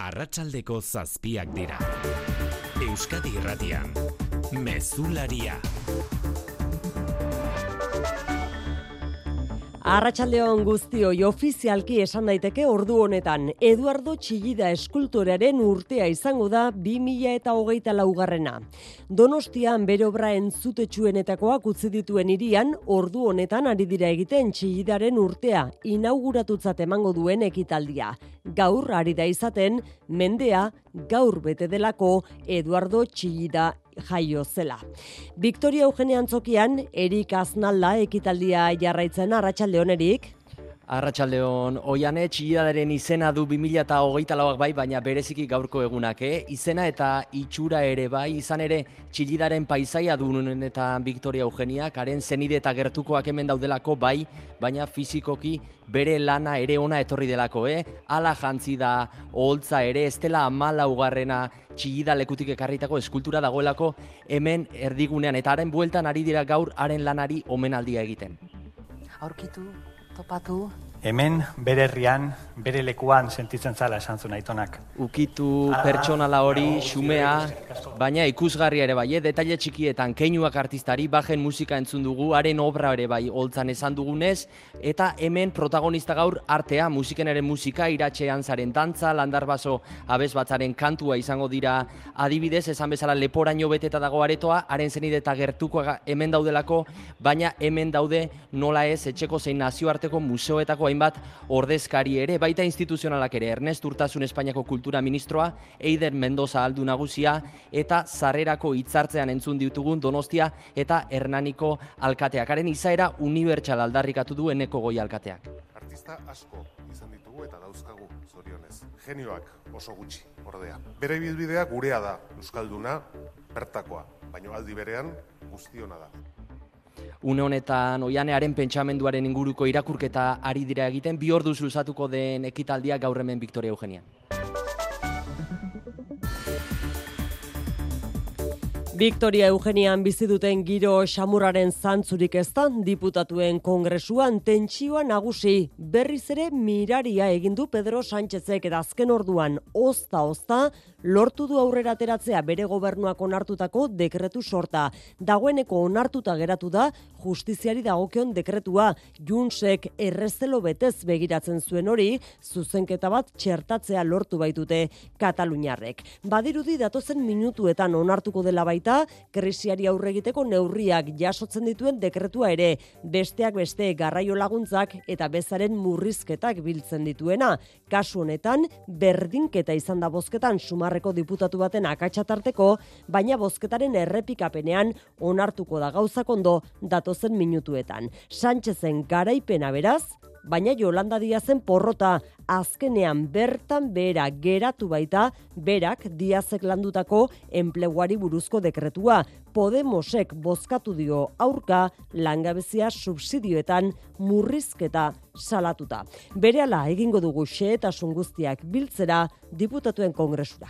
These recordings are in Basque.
Arratsaldeko 7 dira. Euskadi Irratian, Mezularia. Arratsaldeon guztioi, ofizialki esan daiteke ordu honetan Eduardo Txillida eskultorearen urtea izango da 2024. Donostian bere obra entzutetsuenetakoak utzi dituen hirian ordu honetan ari dira egiten Txillidaren urtea inauguratutzat emango duen ekitaldia. Gaur ari da izaten mendea gaur bete delako Eduardo Txillida jaio zela. Victoria Eugenia Antzokian, Erik Aznalda ekitaldia jarraitzen. Arratsaldeon, Erik. Arratsaldeon, Oiane Txillidaren izena du 2024 bai, baina bereziki gaurko egunak, izena eta itxura ere bai, izan ere Txillidaren paisaia dunen eta Victoria Eugeniak, haren zenide eta gertukoak hemen daudelako bai, baina fizikoki bere lana ere ona etorri delako, Hala jantzi da, oholtza ere, ez dela 14. Txillida lekutik ekarritako eskultura dagoelako hemen erdigunean, eta haren bueltan ari dira gaur haren lanari omenaldia egiten. Aurkitu, topatu. Hemen, bere herrian, bere lekuan sentitzen zala esan zuen aitonak. Ukitu pertsonala hori, xumea, baina ikusgarria ere bai, detaile txikietan, keinuak artistari, bajen musika entzun dugu, haren obra ere bai, holtzan esan dugunez, eta hemen protagonista gaur artea, musikenaren musika, iratxean zaren dantza, landarbaso abesbatzaren kantua izango dira adibidez, esan bezala leporaino beteta dago aretoa, haren zenide eta gertukoa hemen daudelako, baina hemen daude nola ez etxeko zein nazioarteko museoetako hainbat ordezkari ere, baita instituzionalak ere, Ernest Urtasun Espainiako Kultura Ministroa, Eider Mendoza aldu nagusia, eta sarrerako hitzartzean entzun ditugun Donostia eta Hernaniko alkateak. Haren izaera unibertsal aldarrikatu du Eneko Goi alkateak. Artista asko izan ditugu eta dauzkagu zorionez. Genioak oso gutxi, ordea. Bere ibilbidea gurea da, euskalduna, bertakoa, baina aldi berean guztiona da. Une honetan Oianearen pentsamenduaren inguruko irakurketa ari dira egiten, 2 orduz luzatuko den ekitaldia gaur hemen Victoria Eugenian. Victoria Eugenian bizi duten giro xamurraren zantzurik ez da, diputatuen kongresuan tentsioa nagusi. Berriz ere miraria egin du Pedro Sánchezek eta azken orduan ozta lortu du aurrera ateratzea bere gobernuak onartutako dekretu sorta. Dagoeneko onartuta geratu da justiziari dagokion dekretua. Juntsek errezelo betez begiratzen zuen hori, zuzenketa bat txertatzea lortu baitute kataluniarrek. Badirudi datozen minutuetan onartuko dela baita, krisiari aurre egiteko neurriak jasotzen dituen dekretua ere, besteak beste garraio laguntzak eta bezaren murrizketak biltzen dituena. Kasu honetan, berdinketa izan da bozketan Sumarreko diputatu baten akatsatarteko, baina bozketaren errepikapenean onartuko da gauzak ondo datozen minutuetan. Sánchezen garaipena beraz, baina Yolanda Díazen porrota, azkenean bertan behera geratu baita berak Díazek landutako enpleguari buruzko dekretua. Podemosek bozkatu dio aurka langabezia subsidioetan murrizketa salatuta. Berehala egingo dugu xehetasun guztiak biltzera diputatuen kongresura.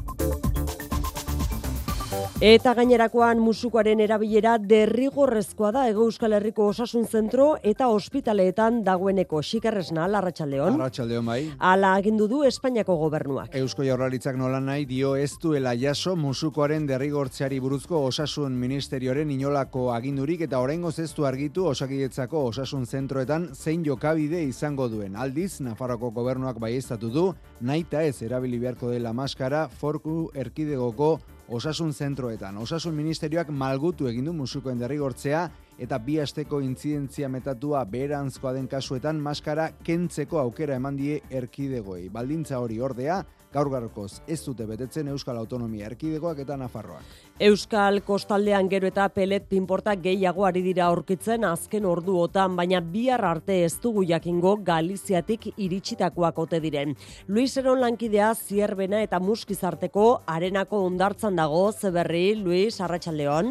Eta gainerakoan musukoaren erabilera derrigorrezkoa da Hego Euskal Herriko Osasun Zentro eta ospitaleetan dagoeneko. Xikerresna, arratsaldeon. Arratsaldeon bai. Hala agindu du Espainiako gobernuak. Eusko Jaurlaritzak nolanahi dio ez duela jaso musukoaren derrigortzeari buruzko Osasun Ministerioaren inolako agindurik eta oraingoz ez du argitu Osakidetzako Osasun Zentroetan zein jokabide izango duen. Aldiz, Nafarroako gobernuak baieztatu du, nahita ez erabili beharko dela maskara Foru Erkidegoko Osasun Zentroetan. Osasun Ministerioak malgutu egin du musukoen derrigortzea eta 2 asteko intzidentzia metatua beheranzkoa den kasuetan maskara kentzeko aukera eman die erkidegoei. Baldintza hori ordea, gaur-gaurkoz ez dute betetzen Euskal Autonomia Erkidegoak eta Nafarroak. Euskal kostaldean gero eta pelet pinporta gehiago ari dira aurkitzen azken orduotan, baina bihar arte ez dugu jakingo Galiziatik iritsitakoak ote diren. Luis Eron lankidea Zierbena eta Muskizarteko Arenako hondartzan dago. Zeberri, Luis, arratsaldeon.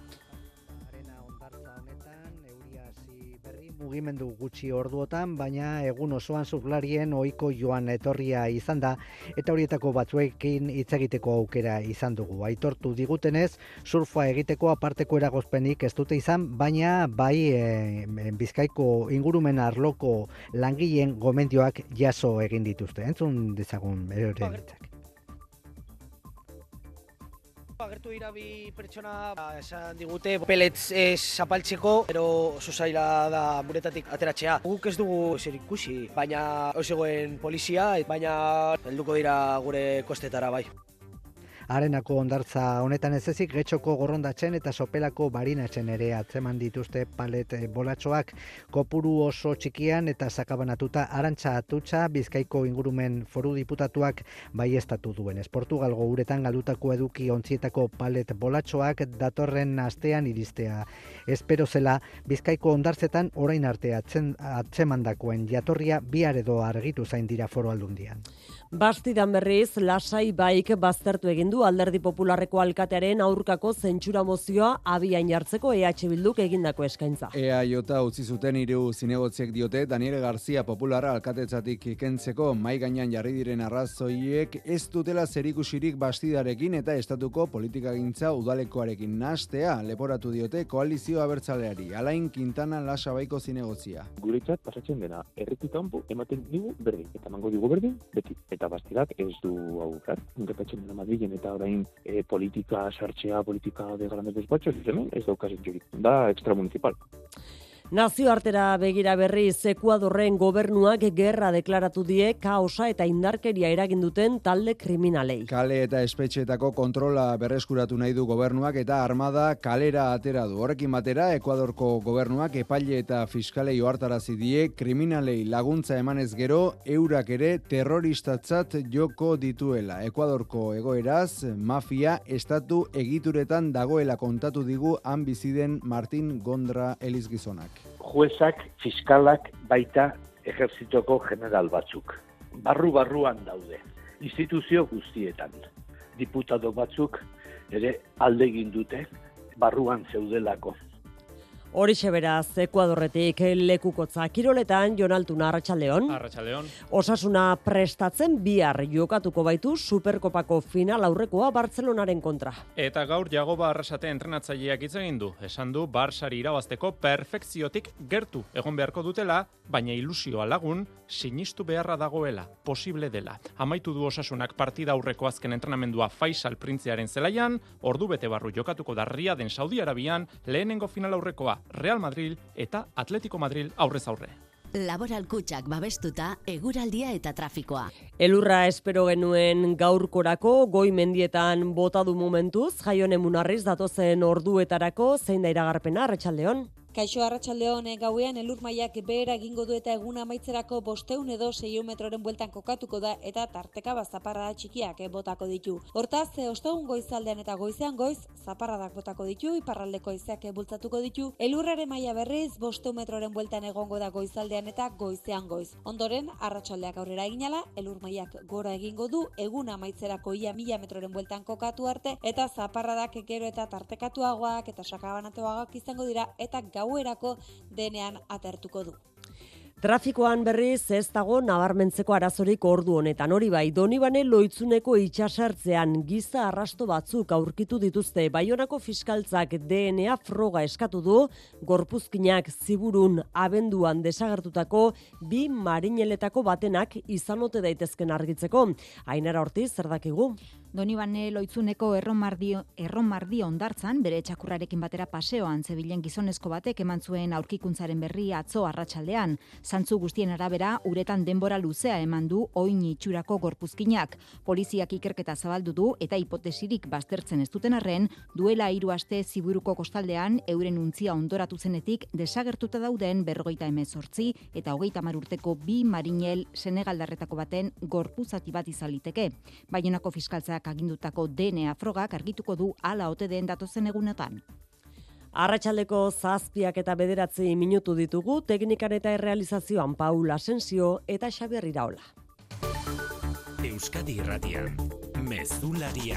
Mugimendu gutxi orduotan, baina egun osoan surflarien ohiko joan etorria izan da, eta horietako batzuekin hitz egiteko aukera izan dugu. Aitortu digutenez, surfa egiteko aparteko eragozpenik ez dute izan, baina bai Bizkaiko ingurumen arloko langileen gomendioak jaso egin dituzte. Entzun dezagun bere hitzak. Agertu dira bi pertsona esan digute pelets zapaltzeko, pero oso zaila da buretatik ateratzea. Guk ez dugu zer ikusi, baina osegoen polizia, baina helduko dira gure kostetara bai. Arenako hondartza honetan ez ezik Getxoko gorrondatzen eta Sopelako barinatzen ere atzeman dituzte palet bolatxoak kopuru oso txikian eta sakabanatuta. Arantxa Atutxa Bizkaiko ingurumen foru diputatuak baieztatu duenez. Portugalgo uretan galdutako eduki ontzietako palet bolatxoak datorren astean iristea. Espero zela Bizkaiko hondartzetan orain arte atzemandakoen jatorria bihar edo argitu zain dira Foru Aldundian. Bastidan berriz, Lasai Baik baztertu egin du Alderdi Popularreko alkatearen aurkako zentsura mozioa abian jartzeko EH Bilduk egindako eskaintza. EAJ utzi zuten 3 zinegotziek diote Daniel García Popularra alkatetzatik kentzeko mai gainean jarri diren arrazoiek ez dutela zerikusirik Bastidarekin eta estatuko politikagintza udalekoarekin nahastea leporatu diote koalizio abertzaleari. Alain Quintana Lasabaiko zinegotzia. Guretzat pasatzen dena erretik kanpo ematen digu berdin eta emango digu berdin beti. Eta Bastidak ez du aukar. Gertatzen dena Madrilen eta orain politika sartzea, politika de grandes despachos, hemen ez daukazen jurik. Da extramunicipal. Nazioartera begira berriz Ekuadorren gobernuak gerra deklaratu die kaosa eta indarkeria eragin duten talde kriminalei. Kale eta espetxeetako kontrola berreskuratu nahi du gobernuak eta armada kalera atera du. Horrekin batera Ekuadorko gobernuak epaile eta fiskalei ohartarazi die kriminalei laguntza emanez gero eurak ere terroristatzat joko dituela. Ekuadorko egoeraz mafia estatu egituretan dagoela kontatu digu han biziden Martin Gondra Elizgizonak. Juezak, fiskalak, baita ejertzitoko general batzuk. Barru-barruan daude, instituzio guztietan. Diputado batzuk ere alde egin dute barruan zeudelako. Horixe beraz, Ekuadorretik lekukotza kiroletan, Jon Altuna, Arratsaldeon. Arratsaldeon. Osasuna prestatzen bihar jokatuko baitu Superkopako final aurrekoa Bartzelonaren kontra. Eta gaur Jagoba Arrasate entrenatzaileak hitz egin du. Esan du Barsari irabazteko perfekziotik gertu egon beharko dutela, baina ilusioa lagun sinistu beharra dagoela, posible dela. Amaitu du Osasunak partida aurreko azken entrenamendua Faisal Printzearen zelaian, ordu bete barru jokatuko da Riaden Saudi Arabian lehenengo final aurrekoa Real Madrid eta Atletico Madrid aurrez aurre. Laboral Kutxak babestuta eguraldia eta trafikoa. Elurra espero genuen gaurkorako goi mendietan bota du momentuz, Jaione Munarriz datozen orduetarako zein da iragarpena Arratsaldeon. Kaixo Arratsaldeon gauean elur mailak behera egingo du eta eguna amaitzerako 500 edo 600 metroren bueltan kokatuko da eta tarteka zaparrada txikiak botako ditu. Hortaz, ostegun goizaldean eta goizean goiz zaparradak botako ditu, iparraldeko haizeak bultzatuko ditu. Elurraren maila berriz 500 metroren bueltan egongo da goizaldean eta goizean goiz. Ondoren, arratsaldeak aurrera eginala, elur mailak gora egingo du, eguna amaitzerako ia 1000 metroren bueltan kokatu arte eta zaparradak gero eta tartekatuagoak eta sakabanatuagoak izango dira eta gauerako denean atertuko du. Trafikoan berriz ez dago nabarmentzeko arazorik ordu honetan. Hori bai, Donibane Loitzuneko itxasartzean giza arrasto batzuk aurkitu dituzte. Baionako fiskaltzak DNA froga eskatu du, gorpuzkinak Ziburun abenduan desagertutako 2 marineletako batenak izan ote daitezken argitzeko. Ainara Ortiz, zer dakigu? Donibane Loitzuneko erromardi hondartzan, bere txakurrarekin batera paseoan zebilen gizonezko batek eman zuen aurkikuntzaren berri atzo arratsaldean. Zantzu guztien arabera, uretan denbora luzea eman du oin itxurako gorpuzkinak. Poliziak ikerketa zabaldu du eta hipotesirik baztertzen ez duten arren, duela 3 aste Ziburuko kostaldean euren untzia ondoratu zenetik desagertuta dauden 58 eta 30 urteko 2 marinel senegaldarretako baten gorpuzati bat izan liteke. Baionako fiskaltzak agindutako DNA frogak argituko du hala ote den datozen egunetan. Arratsaldeko 7 eta 9 minutu ditugu, teknikan eta errealizazioan Paul Asensio eta Xabier Iraola. Euskadi Irratian, Mezularia,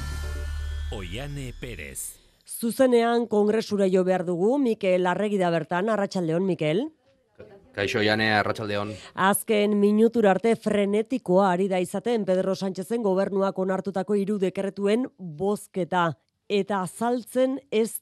Oiane Perez. Zuzenean kongresura jo behar dugu, Mikel Arregi da bertan, Arratsaldeon, Mikel. Kaixo, Jane, Arratsaldeon. Azken minutura arte frenetikoa ari da izaten Pedro Sánchezen gobernuak onartutako 3 dekretuen bozketa. eta azaltzen ez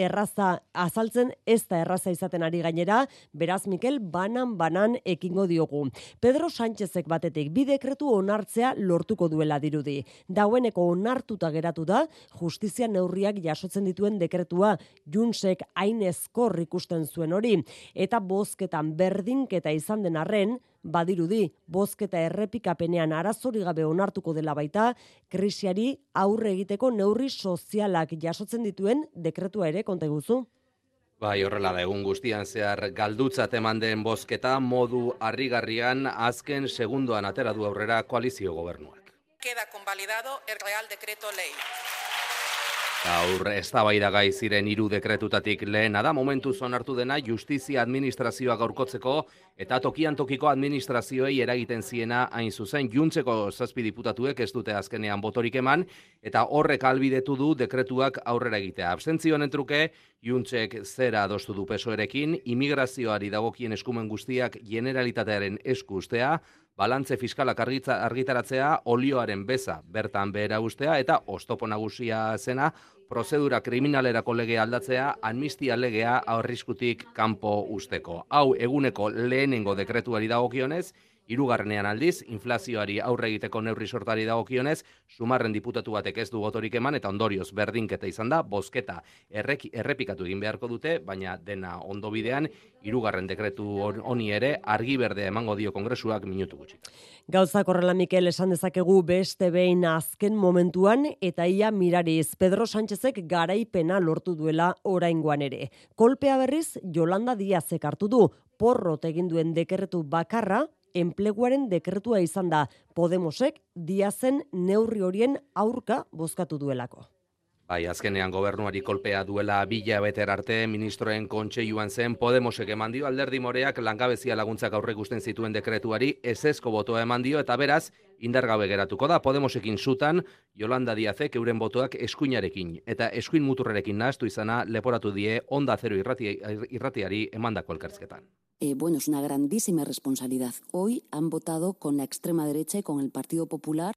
da erraza izaten ari gainera, beraz Mikel banan ekingo diogu. Pedro Sánchezek batetik bi dekretu onartzea lortuko duela dirudi. Dagoeneko onartuta geratu da justizia neurriak jasotzen dituen dekretua, Juntsek hain ezkor ikusten zuen hori, eta bozketan berdinketa izan den arren, badirudi, bozketa errepikapenean arazori gabe onartuko dela baita, krisiari aurre egiteko neurri sozialak jasotzen dituen dekretua ere konta iguzu. Bai, horrela da, egun guztian zehar galdutzat eman den bozketa modu harrigarrian azken segundoan atera du aurrera koalizio gobernuak. Queda convalidado el Real Decreto Ley. Gaur eztabaidagai ziren 3 dekretutatik lehena da momentuz onartu dena justizia administrazioa gaurkotzeko eta tokian tokiko administrazioei eragiten ziena hain zuzen. Juntseko 7 diputatuek ez dute azkenean botorik eman eta horrek ahalbidetu du dekretuak aurrera egitea. Abstentzioen truke Juntsek zera adostu du PSOErekin, immigrazioari dagokien eskumen guztiak generalitatearen esku ustea, balantze fiskalak argitaratzea, olioaren beza bertan behera ustea eta oztopo nagusia zena, prozedura kriminalerako legea aldatzea, amnistia legea arriskutik kanpo usteko. Hau eguneko lehenengo dekretuari dagokionez, 3. aldiz, inflazioari aurre egiteko neurri sortari dagokionez, Sumarren diputatu batek ez du botorik eman eta ondorioz berdinketa izan da, bozketa errepikatu egin beharko dute, baina dena ondo bidean, 3. dekretu honi ere argi berdea emango dio Kongresuak minutu gutxi. Gauzak horrela, Mikel, esan dezakegu beste behin azken momentuan eta ia mirariz Pedro Sánchezek garaipena lortu duela oraingoan ere. Kolpea berriz Yolanda Díazek hartu du, porrot egin duen dekretu bakarra, enpleguaren dekretua izan da, Podemosek Díazen neurri horien aurka bozkatu duelako. Bai, azkenean gobernuari kolpea duela 2 hilabeter arte ministroen kontseiluan zen Podemosek eman dio, Alderdi Moreak langabezia laguntzak aurreikusten zituen dekretuari ezezko botoa eman dio eta beraz indargabe geratuko da. Podemosekin zutan Yolanda Díazek euren botoak eskuinarekin eta eskuin muturrerekin nahastu izana leporatu die Onda Zero irratiari emandako elkarrizketan. Bueno, es una grandísima responsabilidad. Hoy han votado con la extrema derecha y con el Partido Popular.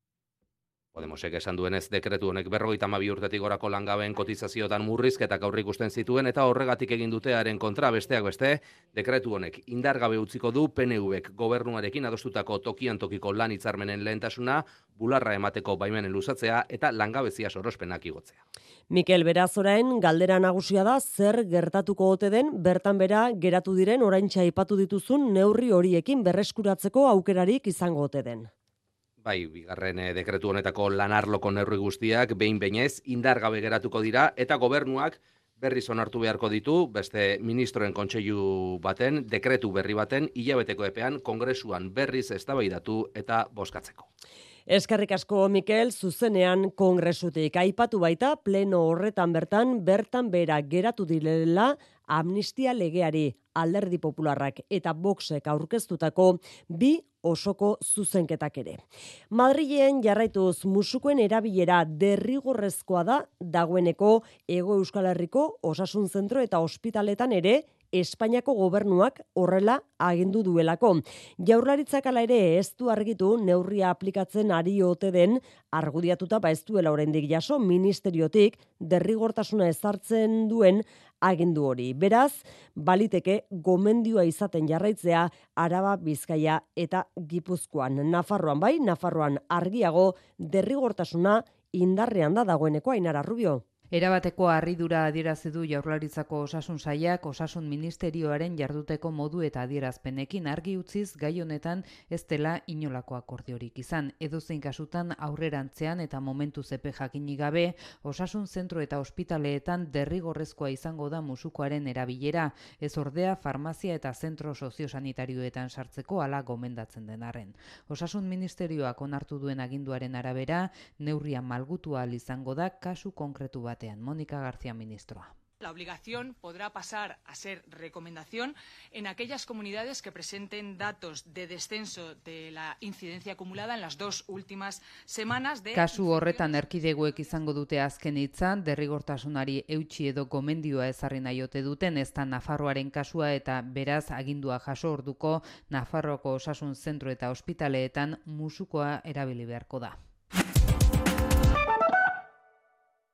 Podemosek esan duenez dekretu honek 52 urtetik gorako langabeen kotizazioetan murrizketak aurreikusten zituen eta horregatik egin dutearen kontra besteak beste, dekretu honek indargabe utziko du PNVek gobernuarekin adostutako tokian tokiko lan hitzarmenen lehentasuna, bularra emateko baimenen luzatzea eta langabezia sorospenak igotzea. Mikel, beraz orain galdera nagusia da zer gertatuko ote den bertan bera geratu diren oraintxe aipatu dituzun neurri horiekin berreskuratzeko aukerarik izango ote den. Bai, 2. dekretu honetako lanarloko neurri guztiak behin-behinez indargabe geratuko dira eta gobernuak berriz onartu beharko ditu beste ministroen kontseilu baten, dekretu berri baten hilabeteko epean Kongresuan berriz eztabaidatu eta bozkatzeko. Eskerrik asko, Mikel, zuzenean Kongresutik aipatu baita pleno horretan bertan bera geratu direla amnistia legeari, Alderdi Popularrak eta Voxek aurkeztutako 2 osoko zuzenketak ere. Madrilen jarraituz musukoen erabilera derrigorrezkoa da dagoeneko Hego Euskal Herriko osasun zentro eta ospitaletan ere Espainiako gobernuak horrela agindu duelako. Jaurlaritzak hala ere ez du argitu neurria aplikatzen ari ote den argudiatuta ez duela oraindik jaso ministeriotik derrigortasuna ezartzen duen agindu hori. Beraz, baliteke gomendioa izaten jarraitzea Araba, Bizkaia eta Gipuzkoan. Nafarroan argiago derrigortasuna indarrean da dagoeneko. Ainara Rubio. Erabateko harridura adierazi du Jaurlaritzako Osasun Sailak Osasun Ministerioaren jarduteko modu eta adierazpenekin argi utziz gai honetan ez dela inolako akordiorik izan. Edozein kasutan aurrerantzean eta momentu zepe jakinik gabe osasun zentro eta ospitaleetan derrigorrezkoa izango da musukoaren erabilera, ez ordea farmazia eta zentro soziosanitarioetan sartzeko hala gomendatzen den arren. Osasun Ministerioak onartu duen aginduaren arabera, neurria malgutu ahal izango da kasu konkretu bat. Mónica García, ministra. La obligación podrá pasar a ser recomendación en aquellas comunidades que presenten datos de descenso de la incidencia acumulada en las 2 últimas semanas de... Kasu horretan erkidegoek izango dute azken hitza, derrigortasunari eutsi edo gomendioa ezarri nahi ote duten, ez da Nafarroaren kasua eta beraz agindua jaso orduko Nafarroako osasun zentro eta ospitaleetan musukoa erabili beharko da.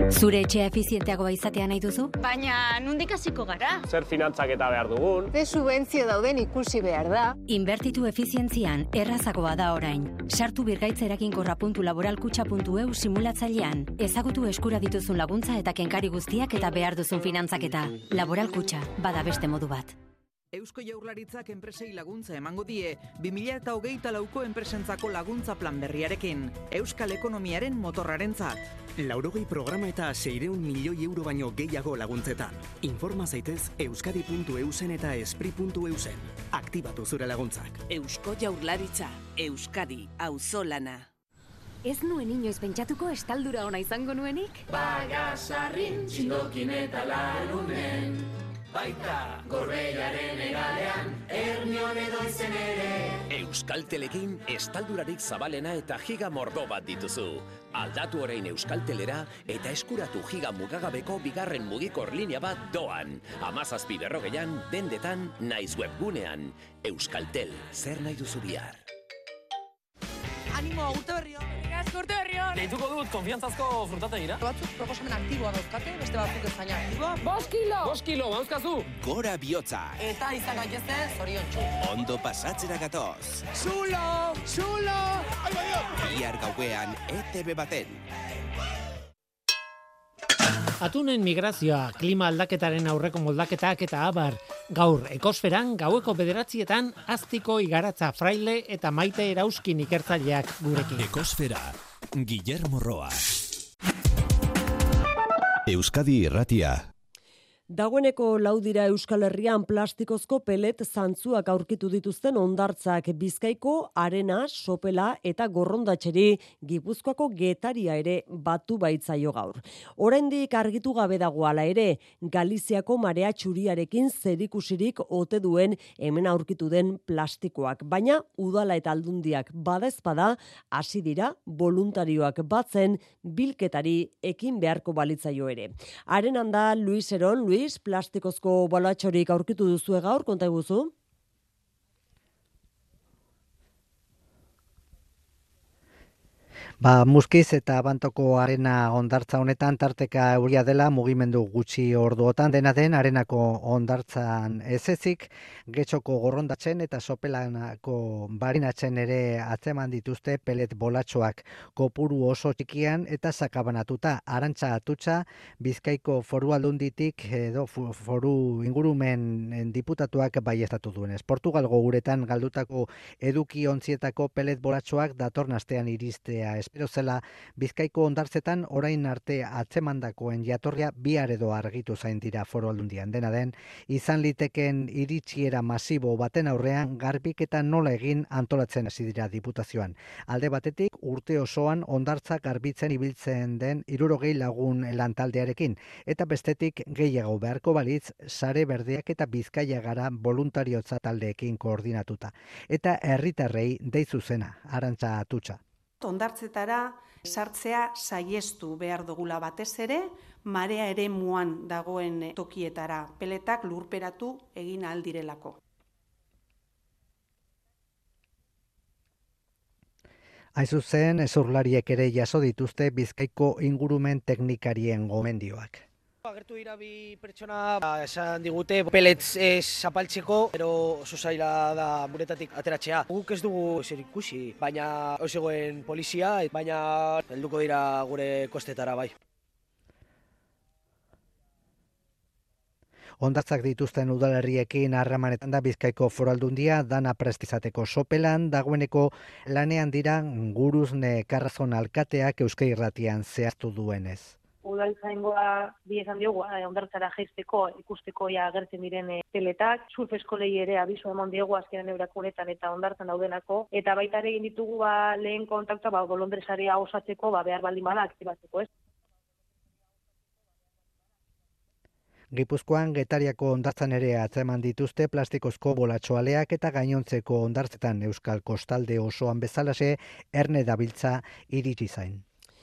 Zure etxea efizienteagoa izatea nahi duzu? Baina, nondik hasiko gara? Zer finantzaketa behar dugun? Ze subentzio dauden ikusi behar da. Inbertitu efizientzian errazagoa da orain. Sartu birgaitz-laboralkutxa.eu simulatzailean. Ezagutu eskura dituzun laguntza eta kenkari guztiak eta behar duzun finantzaketa. Laboral Kutxa, bada beste modu bat. Eusko Jaurlaritzak enpresei laguntza emango die 2024ko enpresentzako laguntza plan berriarekin, euskal ekonomiaren motorrarentzat. 80 programa eta 600 milioi euro baino gehiago laguntzetan. Informa zaitez euskadi.eusen eta espri.eusen. Aktibatu zure laguntzak. Eusko Jaurlaritza, Euskadi, auzolana. Ez nuen inoiz pentsatuko estaldura ona izango nuenik? Bagasarrin, txindokin eta larunen. Baita, Gorbeiaren egalean, Ernion edo izen ere. Euskaltelekin estaldurarik zabalena eta giga mordo bat dituzu. Aldatu orain Euskaltelera eta eskuratu giga mugagabeko bigarren mugikor linea bat doan. 17:40 dendetan naiz webgunean. Euskaltel, zer nahi duzu bihar? Animo, urte berri hon! Urte berri hon! Deituko dut, konfiantzazko frutategira. Batzuk proposamen aktiboa dauzkate, beste batzuk ez baina aktiboa. 5 kilo! 5 kilo, bauzkazu! Gora bihotza! Eta izan gaitezte, zoriontsu. Ondo pasatzera gatoz! Zulo! Zulo! Bihar gauean ETV baten. Atunen migrazioa, klima aldaketaren aurreko moldaketak eta abar. Gaur, ekosferan, gaueko 9:00 Aztiko Igaratza Fraile eta Maite Erauskin ikertzaileak gurekin. Ekosfera, Guillermo Roa. Euskadi Irratia. Dagoeneko laudira Euskal Herrian plastikozko pelet zantzuak aurkitu dituzten hondartzak Bizkaiko Arena, Sopela eta Gorrondatxeri Gipuzkoako Getaria ere batu baitzaio gaur. Oraindik argitu gabe dago hala ere, Galiziako marea txuriarekin zerikusirik ote duen hemen aurkitu den plastikoak, baina udala eta aldundiak badaezpada hasi dira voluntarioak batzen bilketari ekin beharko balitzaio ere. Arenan da Luis Eron, plastikozko bolatxorik aurkitu duzu gaur, konta eguzu? Muskiz eta Abantoko Arena hondartza honetan tarteka euria dela mugimendu gutxi orduotan, dena den Arenako hondartzan ezezik, Getxoko Gorrondatzen eta Sopelanako Barinatzen ere atzeman dituzte pelet bolatxoak kopuru oso txikian eta sakabanatuta. Arantxa Atutxa, Bizkaiko Foru Aldunditik edo foru ingurumen diputatuak baieztatu duenez. Portugalgo uretan galdutako eduki ontzietako pelet bolatxoak datorren astean iristea espero zela, Bizkaiko hondartzetan orain arte atzemandakoen jatorria bihar edo argitu zain dira Foru Aldundian. Dena den, izan liteken iritsiera masibo baten aurrean garbiketa nola egin antolatzen hasi dira diputazioan. Alde batetik, urte osoan hondartza garbitzen ibiltzen den 60 lagun lantaldearekin, eta bestetik gehiago beharko balitz Sare Berdeak eta Bizkaia Gara voluntariotza taldeekin koordinatuta. Eta herritarrei deizu zena, Arantxa Atutxa. Hondartzetara sartzea saiestu behar dugula batez ere, marea ere muan dagoen tokietara, peletak lurperatu egin aldirelako. Aizuzen, ezurlariek ere jaso dituzte Bizkaiko ingurumen teknikarien gomendioak. Agertu dira bi pertsona esan digute pelets zapaltzeko, pero oso zaila da buretatik ateratzea. Guk ez dugu zer ikusi, baina zegoen polizia, baina helduko dira gure kostetara bai. Hondartzak dituzten udalerriekin harremanetan da Bizkaiko Foru Aldundia dana prest izateko. Sopelan dagoeneko lanean dira Guruzne Karrazon alkateak Euskadi Irratian zehaztu duenez. Udaltzaingoa bi esan diogu, hondartzara jaisteko, ikusteko ja agertzen diren peletak, surf eskolei ere abisu eman diegu azkenen eurakunetan eta hondartzan daudenako, eta baita ere egin ditugu lehen kontaktua bolondresaria osatzeko behar baldin bada aktibatzeko, ez? Gipuzkoan Getariako hondartzan ere atzeman dituzte plastikozko bolatxoaleak eta gainontzeko hondartzetan Euskal Kostalde osoan bezalase erne dabiltza iritsi zain.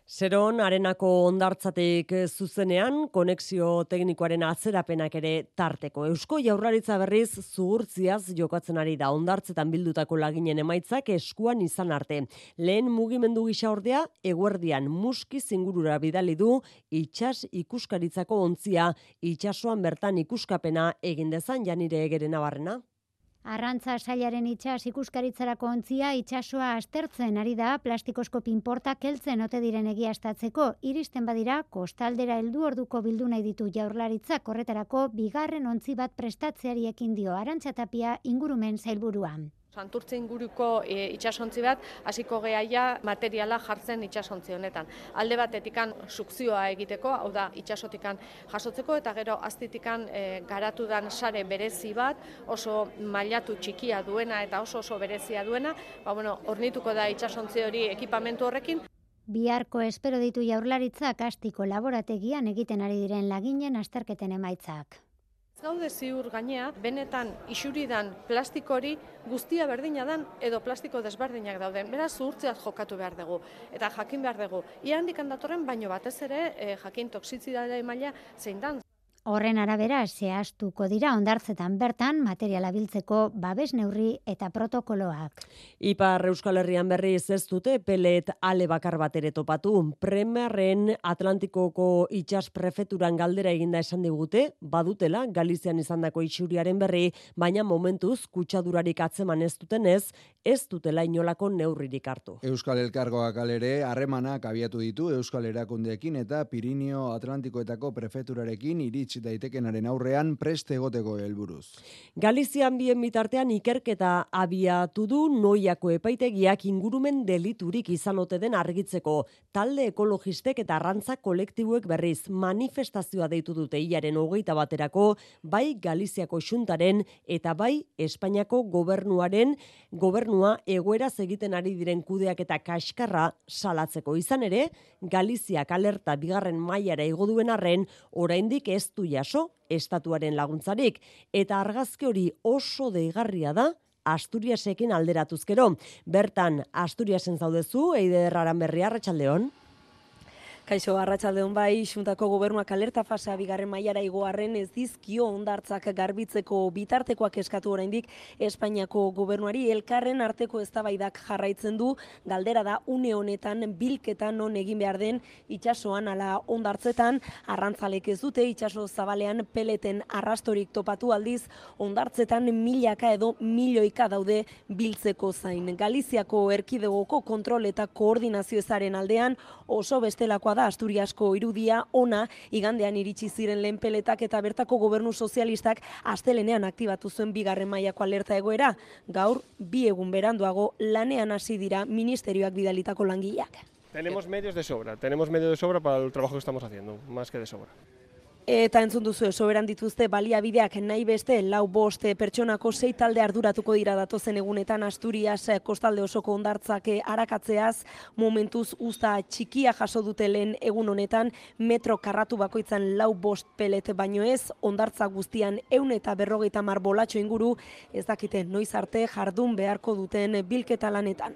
Zeron, arenako hondartzatik zuzenean, konexio teknikoaren atzerapenak ere tarteko. Eusko Jaurlaritza berriz zuhurtziaz jokatzen ari da hondartzetan bildutako laginen emaitzak eskuan izan arte. Lehen mugimendu gisa ordea, eguerdian muskiz ingurura bidali du itsas ikuskaritzako ontzia, itsasoan bertan ikuskapena egin dezan Janire Egeren Nabarrena. Arrantza sailaren itsas ikuskaritzarako ontzia itsasoa aztertzen ari da plastikozko pinportak heltzen ote diren egiaztatzeko. Iristen badira, kostaldera heldu orduko bildu nahi ditu Jaurlaritzak horretarako bigarren ontzi bat prestatzeari ekin dio Arantxa Tapia ingurumen sailburua. Santurtze inguruko itsasontzi bat hasiko gehaia materiala jartzen itsasontzi honetan. Alde batetikan sukzioa egiteko, hau da itsasotikan jasotzeko eta gero aztitikan garatu dan sare berezi bat, oso mailatu txikia duena eta oso berezia duena, hornituko da itsasontzi hori ekipamentu horrekin. Biharko espero ditu Jaurlaritzak Astiko laborategian egiten ari diren laginen azterketen emaitzak. Gaude ziur gainea, benetan isuridan plastikori guztia berdina dan edo plastiko desberdinak dauden. Beraz, zuhurtzeaz jokatu behar dugu. Eta jakin behar dugu. Ia handikan datorren, baino batez ere jakin toxizidade maila zein dan. Horren arabera, zehaztuko dira hondartzetan bertan materiala biltzeko babes neurri eta protokoloak. Ipar Euskal Herrian berriz ez dute pelet ale bakar bat ere topatu. Premarren Atlantikoko itsas prefeturan galdera eginda esan digute, badutela Galizian izandako isuriaren berri, baina momentuz kutsadurarik atzeman ez dutenez, ez dutela inolako neurririk hartu. Euskal Elkargoak alere harremanak abiatu ditu Euskal Erakundeekin eta Pirinio Atlantikoetako prefeturarekin iritsi daitekenaren aurrean preste egoteko helburuz. Galizian bien bitartean ikerketa abiatu du Noiako epaitegiak ingurumen deliturik izan ote den argitzeko. Talde ekologistek eta arrantza kolektibuek berriz manifestazioa deitu dute hilaren 21erako, bai Galiziako Xuntaren eta bai Espainiako gobernua egoeraz egiten ari diren kudeak eta kaskarra salatzeko. Izan ere, Galiziak alerta bigarren mailara igo duen arren, oraindik ez du jaso estatuaren laguntzarik, eta argazki hori oso deigarria da Asturiasekin alderatuzkero. Bertan, Asturiasen zaudezu, Eider Aranberri, arratsaldeon. Kaixo, arratsaldeon bai, Xuntako gobernuak alerta fasea bigarren mailara igoarren ez dizkio hondartzak garbitzeko bitartekoak eskatu oraindik Espainiako gobernuari. Elkarren arteko eztabaidak jarraitzen du, galdera da une honetan bilketan non egin behar den itsasoan ala hondartzetan. Arrantzalek ez dute itsaso zabalean peleten arrastorik topatu, aldiz hondartzetan milaka edo milioika daude biltzeko zain. Galiziako erkidegoko kontrol eta koordinazio ezaren aldean oso bestelakoa da Asturiasko irudia ona, igandean iritsi ziren lehen peletak eta bertako gobernu sozialistak astelenean aktibatu zuen bigarren mailako alerta egoera. Gaur, 2 egun beranduago lanean hasi dira ministerioak bidalitako langileak. Tenemos medios de sobra para el trabajo que estamos haciendo, más que de sobra. Eta entzun duzu soberan dituzte baliabideak nahi beste 4-5 pertsonako 6 talde arduratuko dira datozen egunetan Asturias kostalde osoko hondartzak arakatzeaz. Momentuz uzta txikia jaso dute lehen egun honetan, metro karratu bakoitzan 4-5 pelet baino ez, hondartza guztian 150 bolatxo inguru, ez dakite noiz arte jardun beharko duten bilketa lanetan.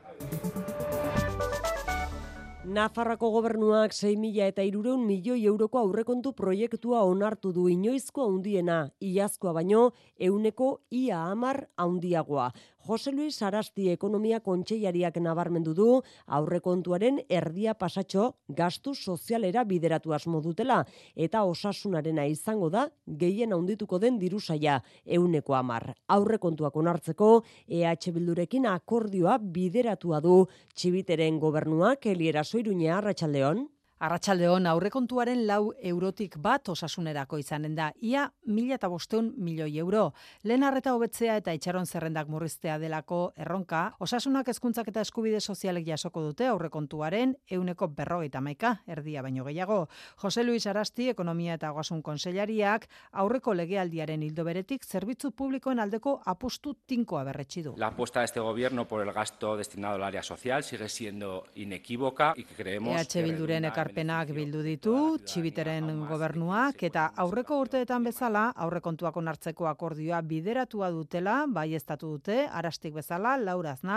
Nafarroako gobernuak 6.300 milioi euroko aurrekontu proiektua onartu du, inoizko handiena, iazkoa baino 10% handiagoa. Jose Luis Arasti ekonomia kontseilariak nabarmendu du aurrekontuaren erdia pasatxo gastu sozialera bideratu asmo dutela eta osasunarena izango da gehien handituko den dirusaia 10%. Aurrekontuak onartzeko EH Bildurekin akordioa bideratua du Txibiteren gobernuak. Eliera Soiruña, arratsaldeon. Arratsaldeon, aurrekontuaren 4 eurotik bat osasunerako izanen da, ia 1.500 milioi euro. Lehen arreta hobetzea eta itxaron zerrendak murriztea delako erronka, osasunak hezkuntzak eta eskubide sozialek jasoko dute aurrekontuaren 50%, erdia baino gehiago. Jose Luis Arasti, ekonomia eta ogasun kontseilariak, aurreko legealdiaren ildo beretik zerbitzu publikoen aldeko apustu tinkoa berretsi du. La apuesta de este gobierno por el gasto destinado al área social sigue siendo inequívoca y que creemos EH Bilduren ekarpenak bildu ditu, Txibiteren gobernuak eta aurreko urteetan bezala aurrekontuak onartzeko akordioa bideratua dutela, baieztatu dute, Arastik bezala, Laura Aznal,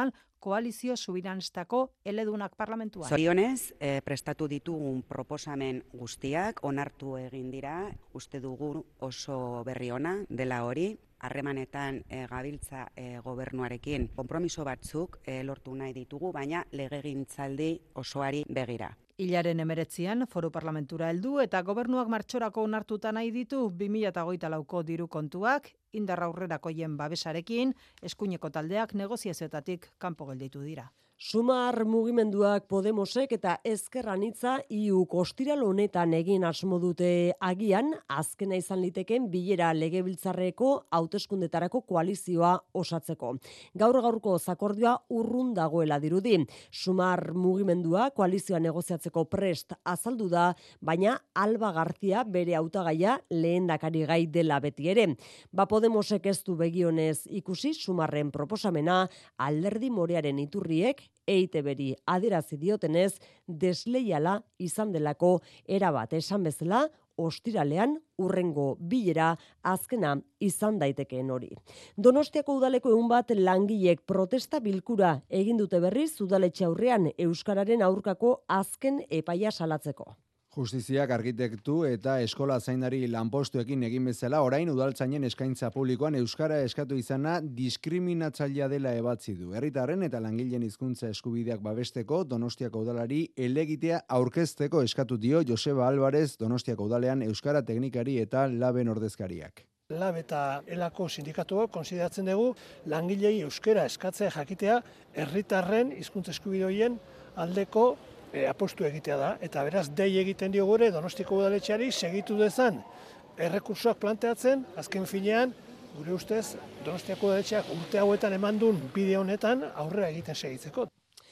koalizio subiranistako eledunak parlamentuan. Zorionez, prestatu ditugun proposamen guztiak onartu egin dira, uste dugu oso berri ona dela hori. Harremanetan gabiltza gobernuarekin konpromiso batzuk lortu nahi ditugu, baina legegintzaldi osoari begira. Hilaren 19an foru parlamentura heldu eta gobernuak martxorako onartuta nahi ditu 2024ko diru kontuak, indar aurrerakoien babesarekin, eskuineko taldeak negoziazioetatik kanpo gelditu dira. Sumar mugimenduak Podemosek eta Ezker Anitza IUk ostiral honetan egin asmo dute agian, azkena izan liteken bilera legebiltzarreko hauteskundetarako koalizioa osatzeko. Gaur-gaurko zakordioa urrun dagoela dirudi. Sumar mugimendua koalizioa negoziatzeko prest azaldu da, baina Alba García bere hautagaia lehendakari gai dela beti ere. Podemosek ez du begionez ikusi Sumarren proposamena, Alderdi Morearen iturriek EITB-ri adierazi diotenez desleiala izan delako erabat esan bezala ostiralean urrengo bilera azkena izan daitekeen hori. Donostiako udaleko 100 langilek protesta bilkura egin dute berriz udaletxe aurrean euskararen aurkako azken epaia salatzeko. Justiziak arkitektu eta eskola zaindari lanpostuekin egin bezala orain udaltzainen eskaintza publikoan euskara eskatu izana diskriminatzailea dela ebatzi du. Herritarren eta langileen hizkuntza eskubideak babesteko Donostiako udalari helegitea aurkezteko eskatu dio Joseba Álvarez Donostiako udalean euskara teknikari eta laben ordezkariak. Lab eta elako sindikatuak konsideratzen dugu langilei euskara eskatzea jakitea herritarren hizkuntza eskubide horien aldeko apostu egitea da, eta beraz dei egiten dio gure Donostiko udaletxeari segitu dezan errekursoak planteatzen, azken finean, gure ustez, Donostiako udaletxeak urte hauetan eman duen bide honetan aurrera egiten segitzeko.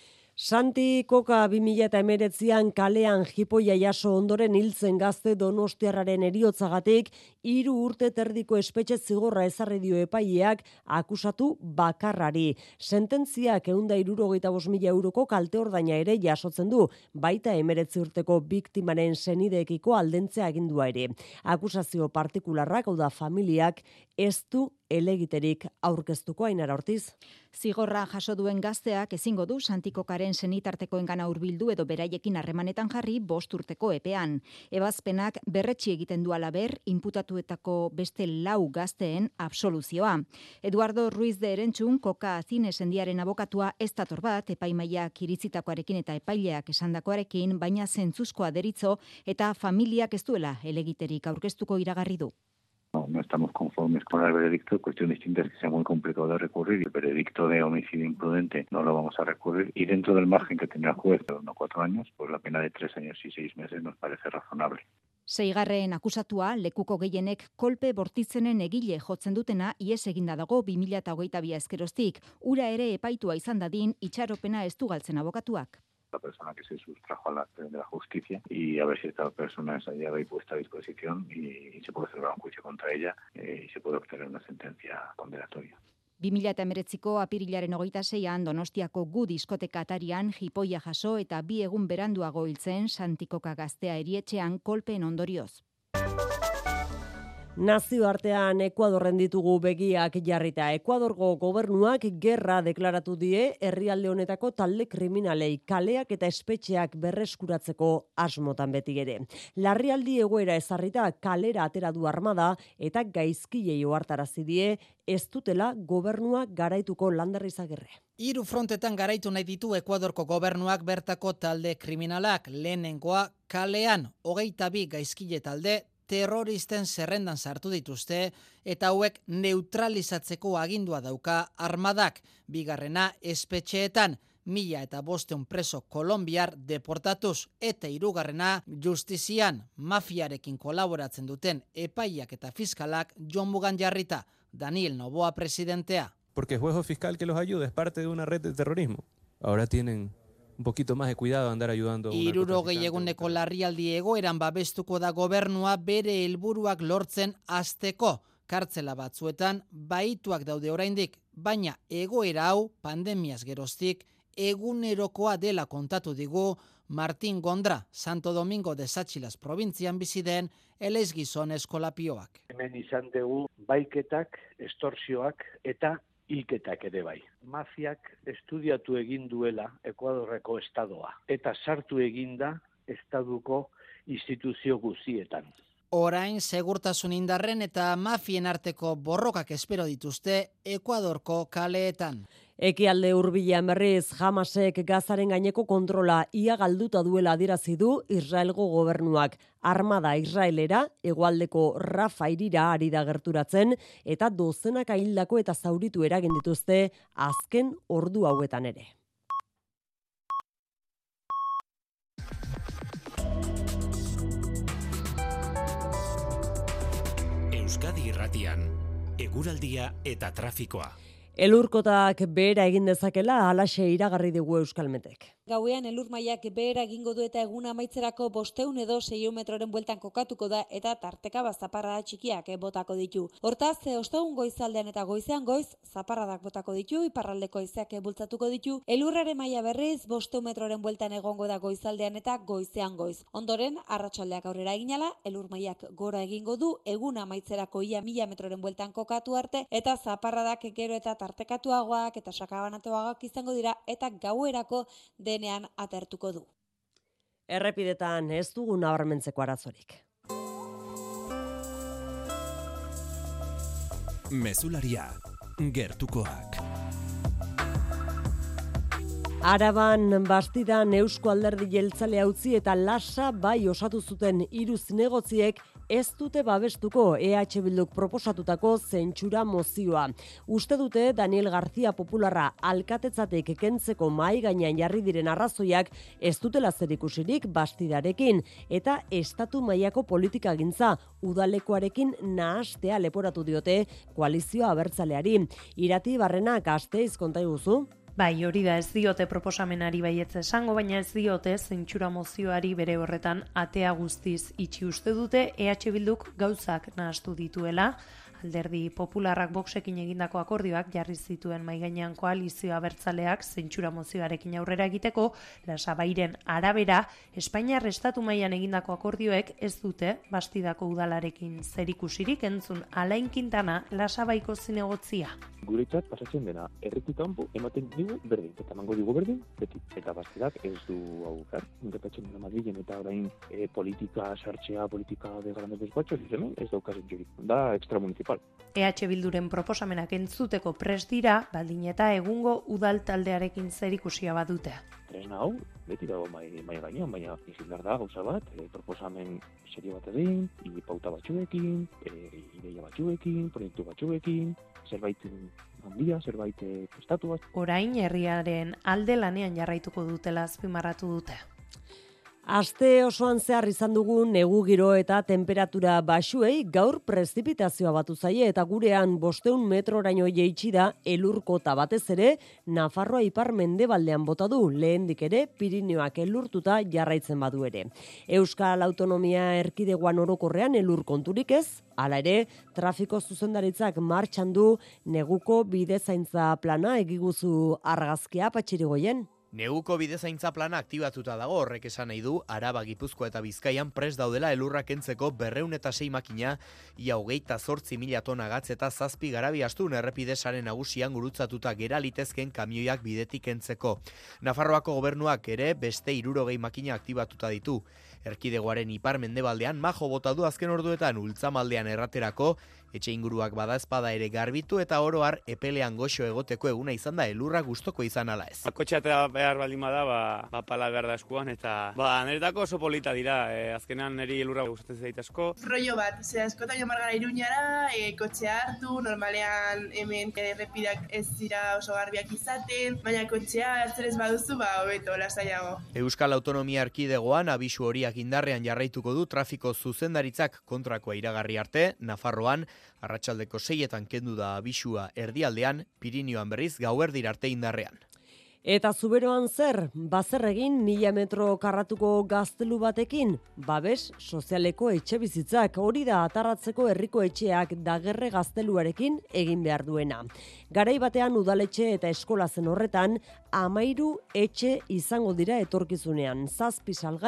Santi Koka 2019an kalean jipoia jaso ondoren hiltzen gazte donostiarraren heriotzagatik 3 urte terdiko espetxe zigorra ezarri dio epaileak akusatu bakarrari. Sententziak 165.000 euroko kalte ordaina ere jasotzen du, baita 19 urteko biktimaren senideekiko aldentzea agindua ere. Akusazio partikularrak, hau da familiak, ez du elegiterik aurkeztuko. Ainara Ortiz. Zigorra jaso duen gazteak ezingo du Santi Kokaren senitartekoengana hurbildu edo beraiekin harremanetan jarri 5 urteko epean. Ebazpenak berretsi egiten du halaber inputatuetako beste 4 gazteen absoluzioa. Eduardo Ruiz de Erentzun, Koka zinesendiaren abokatua ez dator bat epaimaiak iritzitakoarekin eta epaileak esandakoarekin, baina zentzuzkoa deritzo eta familiak ez duela elegiterik aurkeztuko iragarri du. No estamos conformes con el veredicto. Cuestión distinta es que sea muy complicado de recurrir. El veredicto de homicidio imprudente no lo vamos a recurrir. Y dentro del margen que tendrá el juez, de 4 años, pues la pena de 3 años y 6 meses nos parece razonable. 6. akusatua, lekuko gehienek kolpe bortitzenen egile jotzen dutena ies eginda dago 2022 ezkeroztik. Ura ere epaitua izan dadin itxaropena ez du galtzen abokatuak. La persona que se sustrajo a la de la justicia y a ver si esta persona es hallada y puesta a disposición y se puede celebrar un juicio contra ella y se puede obtener una sentencia condenatoria. 2019ko apirilaren 26an Donostiako Gu diskoteka atarian jipoia jaso eta 2 egun beranduago hiltzen Santi Koka gaztea erietxean kolpeen ondorioz. Nazioartean Ekuadorren ditugu begiak jarrita. Ekuadorgo gobernuak gerra deklaratu die herrialde honetako talde kriminalei kaleak eta espetxeak berreskuratzeko asmotan beti ere. Larrialdi egoera ezarrita kalera atera du armada eta gaizkilei ohartarazi die ez dutela gobernua garaituko. Lander Izagirre. 3 frontetan garaitu nahi ditu Ekuadorko gobernuak bertako talde kriminalak. Lehenengoa kalean 22 gaizkile talde terroristen zerrendan sartu dituzte eta hauek neutralizatzeko agindua dauka armadak. Bigarrena espetxeetan 1.500 preso kolombiar deportatuz eta 3. justizian mafiarekin kolaboratzen duten epaiak eta fiskalak jomugan jarrita. Daniel Noboa presidentea. Porque el juego fiscal que los ayuda es parte de una red de terrorismo. Ahora tienen un poquito más de cuidado de andar ayudando. 60 eguneko larrialdi egoeran babestuko da gobernua bere helburuak lortzen hasteko. Kartzela batzuetan baituak daude oraindik, baina egoera hau pandemiaz geroztik egunerokoa dela kontatu digu Martin Gondra, Santo Domingo de Satxilas probintzian bizi den eleizgizon eskolapioak. Hemen izan dugu baiketak, estorsioak eta hilketak ere bai. Mafiak estudiatu egin duela Ekuadorreko estadoa eta sartu eginda estaduko instituzio guztietan. Orain segurtasun indarren eta mafien arteko borrokak espero dituzte Ekuadorko kaleetan. Ekialde hurbilean berriz Hamasek Gazaren gaineko kontrola ia galduta duela adierazi du Israelgo gobernuak. Armada Israelera hegoaldeko Rafa hirira ari da gerturatzen eta dozenaka hildako eta zauritu eragin dituzte azken ordu hauetan ere. Euskadi Irratian, eguraldia eta trafikoa. Elurkotak behera egin dezakela halaxe iragarri dugu Euskalmetek. Gauean elur mailak behera egingo du eta egun amaitzerako 500 edo 600 metroren bueltan kokatuko da eta tarteka zaparrada txikiak botako ditu. Hortaz, ostegun goizaldean eta goizean goiz zaparradak botako ditu, iparraldeko haizeak bultzatuko ditu. Elurraren maila berriz 500 metroren bueltan egongo da goizaldean eta goizean goiz. Ondoren, arratsaldeak aurrera eginala, elur mailak gora egingo du, egun amaitzerako ia 1000 metroren bueltan kokatu arte eta zaparradak gero eta tartekatuagoak eta sakabanatuagoak izango dira eta gauerako denean atertuko du. Errepidetan ez dugu nabarmentzeko arazorik. Mezularia, gertukoak. Araban Bastidan Eusko Alderdi Jeltzalea utzi eta Lasa bai osatu zuten 3 zinegotziek ez dute babestuko EH Bilduk proposatutako zentsura mozioa. Uste dute Daniel García Popularra alkatetzatik kentzeko mahai gainean jarri diren arrazoiak ez dutela zerikusirik Bastidarekin eta estatu mailako politikagintza udalekoarekin nahastea leporatu diote koalizioa abertzaleari. Irati Barrenak Gasteiz konta iguzu. Bai, hori da, ez diote proposamenari baietz esango, baina ez diote zentsura mozioari bere horretan atea guztiz itxi uste dute, EH Bilduk gauzak nahastu dituela. Alderdi Popularrak Voxekin egindako akordioak jarri zituen maigainean koalizio abertzaleak zentsura mozioarekin aurrera egiteko, Lasabairen arabera, Espainiar estatu mailan egindako akordioek ez dute Bastidako udalarekin zerikusirik, entzun Alain Quintana Lasabaiko zinegotzia. Guretzat pasatzen dena, herritik kanpo ematen digu berdin, eta emango digu berdin, beti. Eta Bastidak ez du hau gar, gertatzen dena Madrilen eta orain politika sartzea, politika de grandes despachos, ez daukazen jurik. Da extramunicipal. EH Bilduren proposamenak entzuteko prest dira, baldin eta egungo udal taldearekin zerikusia badute. Tresna hau, beti dago mai gainean, baina izindar da gauza bat, proposamen serio bat egin, pauta batzuekin, ideia batzuekin, proiektu batzuekin, zerbait handia, zerbait prestatu bat. Orain herriaren alde lanean jarraituko dutela azpimarratu dute. Aste osoan zehar izan dugu negu giro eta temperatura baxuei gaur prezipitazioa batu zaie eta gurean 500 metroraino jaitsi da elurkota batez ere Nafarroa ipar mendebaldean bota du, lehendik ere Pirinioak elurtuta jarraitzen badu ere. Euskal Autonomia Erkidegoan orokorrean elur konturik ez, hala ere trafiko zuzendaritzak martxan du neguko bidezaintza plana egiguzu argazkia Patxirigoien. Neguko bidezaintza plana aktibatuta dago, horrek esan nahi du Araba, Gipuzkoa eta Bizkaian prest daudela elurra kentzeko 206 makina, ia 28.000 tona gatz eta 7 garabi astun errepide sare nagusian gurutzatuta gera litezken kamioiak bidetik kentzeko. Nafarroako gobernuak ere beste 60 makina aktibatuta ditu. Erkidegoaren ipar mendebaldean majo bota du azken orduetan ultzamaldean erraterako, etxe inguruak bada espada ere garbitu eta oro har epelean goxo egoteko eguna izan da elurra gustoko izan ala ez. Kotxea behar baldin bada, pala behar da eskuan eta niretako oso polita dira, azkenean niri elurra gustatzen zait asko. Rollo bat, askotan jomar gara Iruñara, kotxea hartu, normalean hemen errepidak ez dira oso garbiak izaten, baina kotxea hartzen ez baduzu, hobeto, lasaiago. Euskal Autonomia Erkidegoan abisu horiak indarrean jarraituko du trafiko zuzendaritzak kontrakoa iragarri arte, Nafarroan arratsaldeko 6etan kendu da abisua erdialdean, Pirinioan berriz gauerdira arte indarrean. Eta Zuberoan zer, bazer egin 1000 metro karratuko gaztelu batekin, babes sozialeko etxe bizitzak, hori da atarratzeko herriko etxeak dagerre gazteluarekin egin behar duena. Garai batean udaletxe eta eskola zen horretan, 13 etxe izango dira etorkizunean, 7 salgai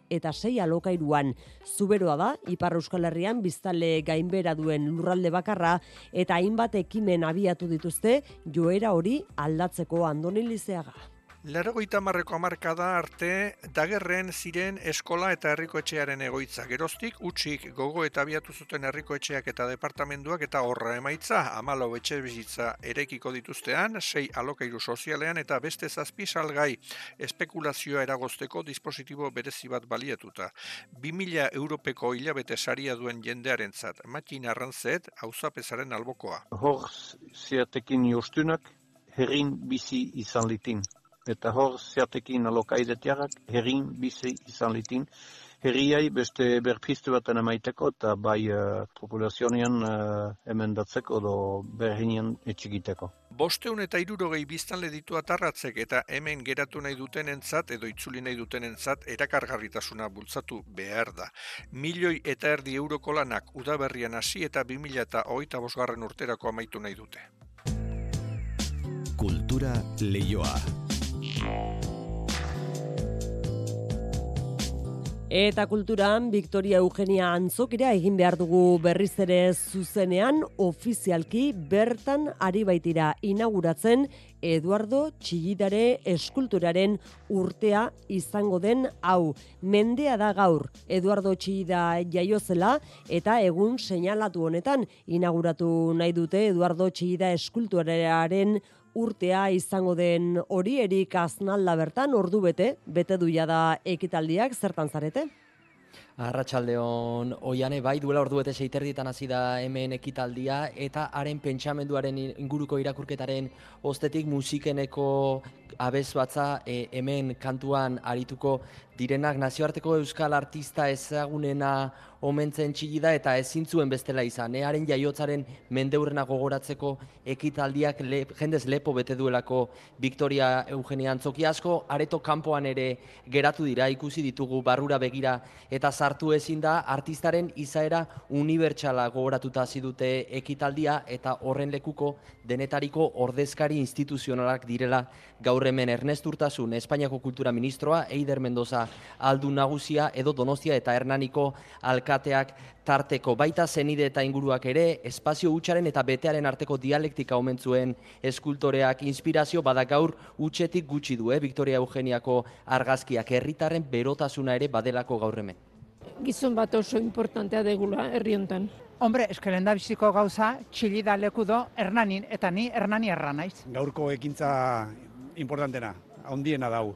eta 6 alokairuan. Zuberoa da, Ipar Euskal Herrian biztanle gainbera duen lurralde bakarra eta hainbat ekimen abiatu dituzte joera hori aldatzeko. Andoni Lizeaga. 80ko hamarkada arte dagerren ziren eskola eta herriko etxearen egoitza. Geroztik utzik gogo eta abiatu zuten herriko etxeak eta departamentuak eta horra emaitza 14 etxebizitza eraikiko dituztean, 6 alokairu sozialean eta beste 7 salgai espekulazioa eragozteko dispositibo berezi bat baliatuta. 2000 europeko hilabete saria duen jendearentzat. Matin Arrantzet, auzapezaren albokoa. Hor ziatekin jostunak herrin bizi izan litin. Eta hor zeatekin alokaidetiagak herrin bizi izan litin. Herriai beste berpiztu baten emaiteko eta bai populazionean emendatzeko edo berhinian etxikiteko. 560 biztanle ditu Atarratzek eta hemen geratu nahi dutenentzat edo itzuli nahi dutenentzat erakargarritasuna bultzatu behar da. 1,5 milioi euroko lanak udaberrian hasi eta 2025 urterako amaitu nahi dute. Kultura Leioa. Eta kulturan, Victoria Eugenia Antzokira egin behar dugu berriz ere zuzenean, ofizialki bertan ari baitira inauguratzen Eduardo Txillidare eskulturaren urtea izango den hau. Mendea da gaur Eduardo Txillida jaiozela eta egun seinalatu honetan inauguratu nahi dute Eduardo Txillida eskulturaren urtea izango den hori. Erik Aznalda bertan ordu bete duia da ekitaldiak. Zertan zarete? Arratsaldeon Oiane, bai, duela ordu bete 6:30 hasi da hemen ekitaldia eta haren pentsamenduaren inguruko irakurketaren ostetik musikeneko abesbatza hemen kantuan arituko direnak nazioarteko euskal artista ezagunena omentzen Txillida eta ezin zuen bestela izan. Haren jaiotzaren mendeurrena gogoratzeko ekitaldiak jendez lepo bete duelako Victoria Eugenia Antzokia. Asko areto kanpoan ere geratu dira, ikusi ditugu barrura begira eta sartu ezin da. Artistaren izaera unibertsala gogoratuta hasi dute ekitaldia eta horren lekuko denetariko ordezkari instituzionalak direla gaur hemen Ernest Urtasun, Espainiako kultura ministroa, Eider Mendoza aldun nagusia edo Donostia eta Hernaniko alkateak tarteko. Baita zenide eta inguruak ere, espazio hutsaren eta betearen arteko dialektika omen zuen eskultoreak. Inspirazio bada gaur hutsetik gutxi du, Victoria Eugeniako argazkiak, herritarren berotasuna ere badelako gaur hemen. Gizon bat oso importantea degula herri hontan. Hombre, eskelen da biziko gauza, Txillida lekudo Hernanin, eta ni Hernani erra naiz. Gaurko ekintza importantena, handiena dau.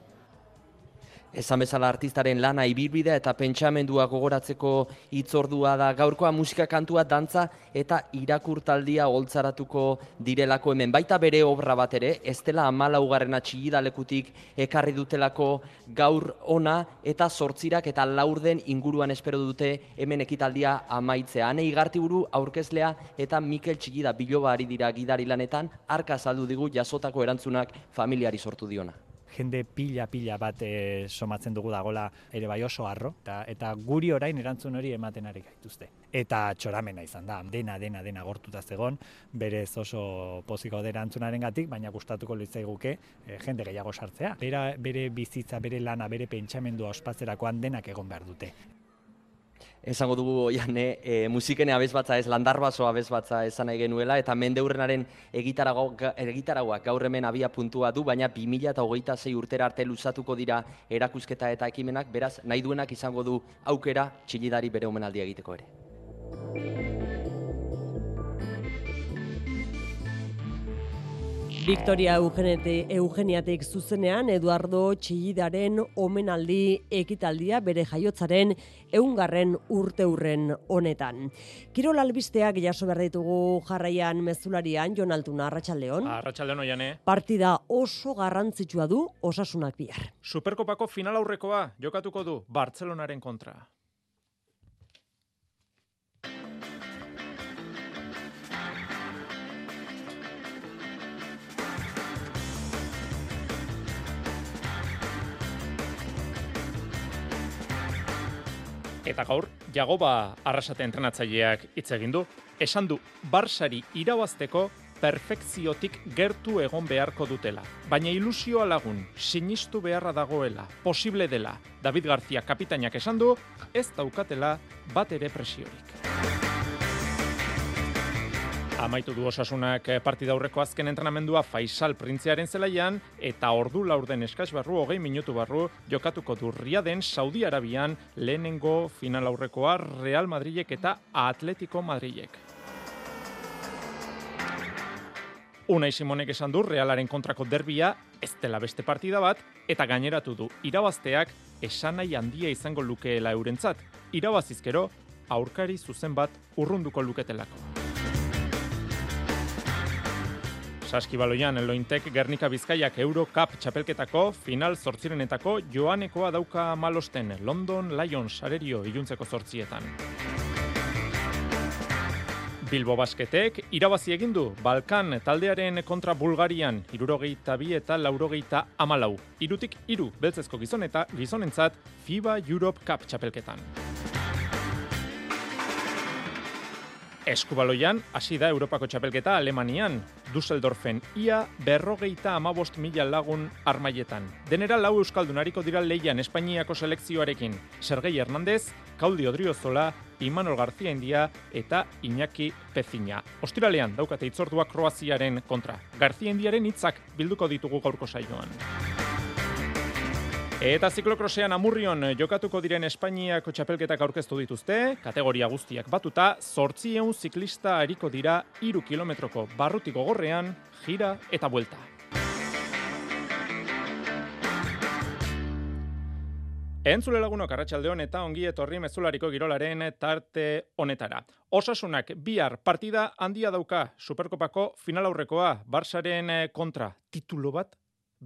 Esan bezala artistaren lana, ibilbidea eta pentsamendua gogoratzeko hitzordua da gaurkoa. Musika, kantua, dantza eta irakurtaldia holtzaratuko direlako hemen. Baita bere obra bat ere, ez dela 14. Txillida lekutik ekarri dutelako gaur ona eta 8 eta 4 inguruan espero dute hemen ekitaldia amaitzea. Ane Igartiburu aurkezlea eta Mikel Txillida Biloba ari dira gidari lanetan, arka azaldu digu jasotako erantzunak familiari sortu diona. Jende pila bat somatzen dugu dagola ere bai oso harro, eta guri orain erantzun hori ematen ari gaituzte. Eta txoramena izan da, dena gortuta zegon, berez oso poziko da erantzunarengatik, baina gustatuko litzaiguke jende gehiago sartzea. Bere bizitza, bere lana, bere pentsamendua ospatzerakoan denak egon behar dute. Esango dugu Oiane, musikene abesbatza ez, landarbaso abesbatza esan nahi genuela, eta mendeurrenaren egitaragoak gaur hemen abia puntua du, baina 2026 urtera arte luzatuko dira erakusketa eta ekimenak, beraz nahi duenak izango du aukera Txillidari bere omenaldia egiteko ere. Victoria Eugeniatik zuzenean Eduardo Txillidaren omenaldi ekitaldia bere jaiotzaren 100. urteurren honetan. Kirol albisteak jaso behar ditugu jarraian mezularian, Jon Altuna, arratsaldeon. Arratsaldeon Oiane. Partida oso garrantzitsua du Osasunak bihar. Superkopako final aurrekoa jokatuko du Bartzelonaren kontra. Eta gaur, Jagoba Arrasate entrenatzaileak hitz egin du. Esan du, Barsari irabazteko perfekziotik gertu egon beharko dutela. Baina ilusioa lagun, sinistu beharra dagoela, posible dela. David García kapitainak esan du, ez daukatela bat ere presiorik. Amaitu du Osasunak partida aurreko azken entrenamendua Faisal Printzearen zelaian eta ordu laurden eskas barru 20 minutu barru jokatuko du Riaden Saudi Arabian lehenengo final aurrekoa Real Madrilek eta Atletico Madrilek. Unai Simonek esan du Realaren kontrako derbia ez dela beste partida bat eta gaineratu du irabazteak esanai handia izango lukeela eurentzat. Irabazizkero aurkari zuzen bat urrunduko luketelako. Saskibaloian Lointek Gernika Bizkaiak Eurocup txapelketako final 8renetako joanekoa dauka malosten London Lions arerio iluntzeko 8etan. Bilbo Basketek irabazi egin du Balkan taldearen kontra Bulgarian 62 eta 84. 3-3 beltzezko gizonentzat FIBA Europe Cup txapelketan. Eskubaloian, hasi da Europako txapelketa Alemanian, Düsseldorfen ia 55.000 lagun armaietan. Denera 4 euskaldunariko dira leian Espainiako selekzioarekin. Sergei Hernández, Claudio Odriozola, Imanol García India eta Iñaki Pezina. Ostiralean daukate hitzordua Kroaziaren kontra. García Indiaren hitzak bilduko ditugu gaurko saioan. Eta ziklokrosean Amurrion jokatuko diren Espainiako txapelketak aurkeztu dituzte, kategoria guztiak batuta, 800 ziklista ariko dira 3 kilometroko barruti gogorrean, jira eta buelta. Entzule lagunok arratsaldeon eta ongi etorri mezulariko girolaren tarte honetara. Osasunak bihar partida handia dauka Superkopako final aurrekoa, Barsaren kontra titulo bat,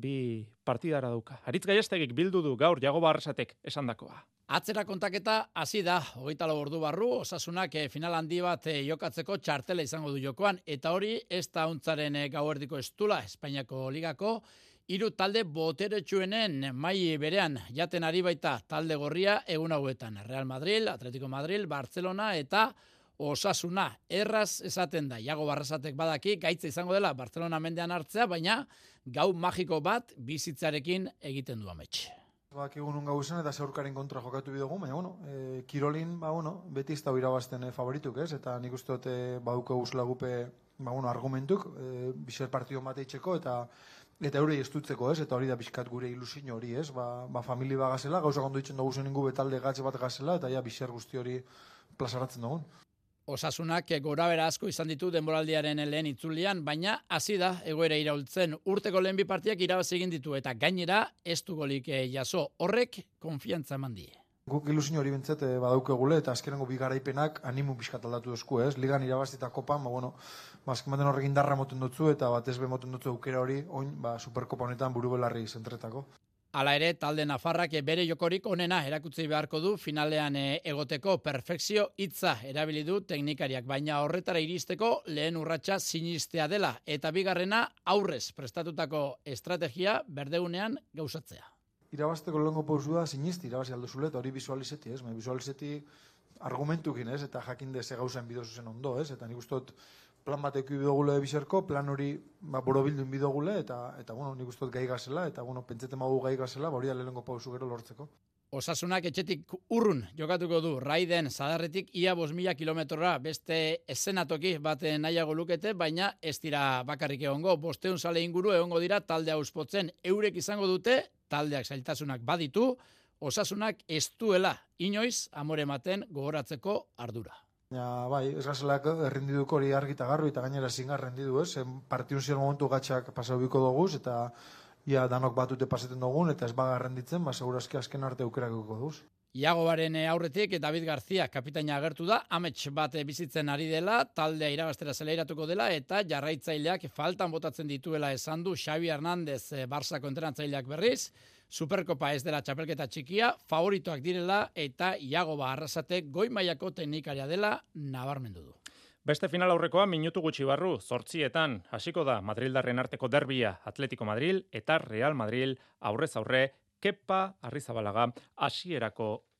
2 partidara dauka. Aritz Gaiastegik bildu du gaur Jagoba Arrasatek esandakoa. Atzera kontaketa hasi da, 24 ordu barru, Osasunak final handi bat jokatzeko txartela izango du jokoan, eta hori ez da untzaren gauerdiko estula, Espainiako ligako, 3 talde boteretsuenen mai berean jaten ari baita talde gorria egun hauetan. Real Madrid, Atletico Madrid, Barcelona eta Osasuna. Erraz esaten da, Jagoba Arrasatek badaki, gaitza izango dela Barcelona mendean hartzea, baina gau magiko bat bizitzarekin egiten du amets. Bakigun un gauzen eta zeurkaren kontra jokatu bidugu, baina kirolin beti ez da irabazten favorituk, ez? Eta nik uste dut baduko guzela gupe argumentuk, bizer partido mateitzeko eta eurei estutzeko, ez? Eta hori da bizkat gure ilusio hori, ez? Famili bagazela, gauza kondo ditzen dugu zen ingu betalde gatze bat gazela, eta ja bizer guzti hori plazaratzen dugun. Osasunak gorabera asko izan ditu denboraldiaren lehen itzulian, baina hasi da egoera iraultzen. Urteko lehen 2 partidak irabazi egin ditu eta gainera ez du golik jaso. Horrek konfiantza eman die. Guk ilusio hori bintzat badaukegule eta azkenengo 2 garaipenak animu bizkat aldatu duzku, ez? Ligan irabazita kopan, azken baten horrekin darra moten dutzu eta batez be moten dutzu aukera hori, oin, Superkopa honetan buru belarri zentretako. Hala ere, talde Nafarrak bere jokorik onena erakutsi beharko du finalean egoteko perfekzio hitza erabili du teknikariak, baina horretara iristeko lehen urratsa sinistea dela eta bigarrena aurrez prestatutako estrategia berdeunean gauzatzea. Irabazteko lehenko pausu da sinisti irabazi alduzule eta hori visualizeti, ez? Visualizeti argumentukin, ez? Eta jakin deze gauzen bidozu zen ondo, ez? Eta nik uste dut plan bateko bidogule bizerko, plan hori borobildun bidogule, eta nik uste dut gai gazela, eta pentsete magu gai gazela, hori da lehenko pausu gero lortzeko. Osasunak etxetik urrun jokatuko du, Raiden Zadarretik ia 5.000 kilometrora beste eszenatoki bat nahiago lukete, baina ez dira bakarrik egongo, 500 zale inguru egongo dira taldea auspotzen, eurek izango dute, taldeak zailtasunak baditu, Osasunak ez duela inoiz amore ematen gogoratzeko ardura. Bai, ez gazelak errendiduko hori argita garru eta gainera zingar rendidu, ez? Partiun ziren momentu gatxak pasau biko doguz eta ia danok batute paseten dugun eta ez baga renditzen, segurazki azken arte aukerakiko duz. Iagobaren aurretik David García kapitaina agertu da, amets bat bizitzen ari dela, taldea irabaztera zeleiratuko dela eta jarraitzaileak faltan botatzen dituela esan du Xavi Hernández Barsako entrenatzaileak berriz, Superkopa ez dela txapelketa txikia, favoritoak direla eta Jagoba Arrasatek goi mailako teknikaria dela nabarmendu du. Beste final aurrekoa minutu gutxi barru, 8etan hasiko da Madrildarren arteko derbia, Atletico Madrid eta Real Madrid aurrez aurre, Kepa Arrizabalaga hasierako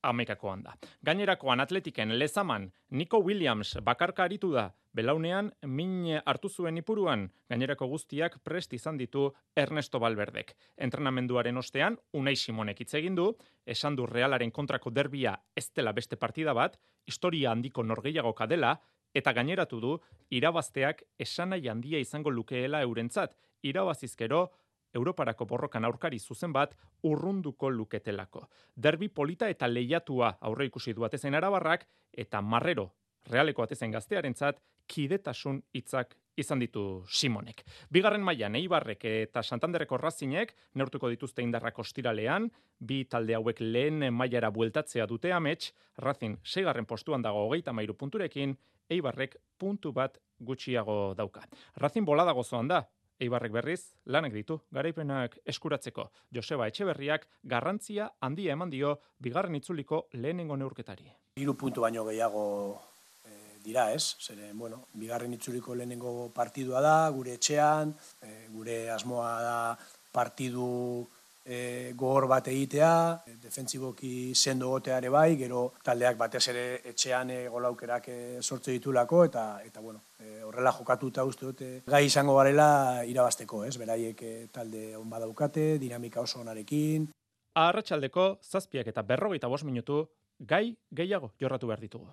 11koan da. Gainerakoan atletiken lezaman Nico Williams bakarka aritu da, belaunean min hartu zuen ipuruan, gainerako guztiak prest izan ditu Ernesto Valverdek. Entrenamenduaren ostean, Unai Simonek hitz egin du, esan du Realaren kontrako derbia ez dela beste partida bat, historia handiko norgehiagoka dela, eta gaineratu du, irabazteak esanai handia izango lukeela eurentzat, irabazizkero, Europarako borrokan aurkari zuzen bat urrunduko luketelako. Derbi polita eta lehiatua aurre ikusi du atezen arabarrak eta marrero Realeko atezen gaztearentzat kidetasun hitzak izan ditu Simonek. Bigarren mailan Eibarrek eta Santanderreko Razinek neurtuko dituzte indarrak ostiralean, bi talde hauek lehen mailara bueltatzea dute amets, Racing 6. postuan dago 33 punturekin, Eibarrek puntu bat gutxiago dauka. Racing bolada gozoan da. Eibarrek berriz, lanak ditu, garaipenak eskuratzeko. Joseba Etxeberriak garrantzia handia eman dio bigarren itzuliko lehenengo neurketari. 3 puntu baino gehiago dira, ez? Zeren, bigarren itzuliko lehenengo partidua da, gure etxean, gure asmoa da partidu gogor bat egitea, defentsiboki sendo goteare bai, gero taldeak batez ere etxean golaukerak sortze ditulako, eta horrela jokatuta uste dute gai izango garela irabazteko, ez? Beraiek talde on badaukate, dinamika oso onarekin. Arratsaldeko 7:45 minutu gai gehiago jorratu behar ditugu.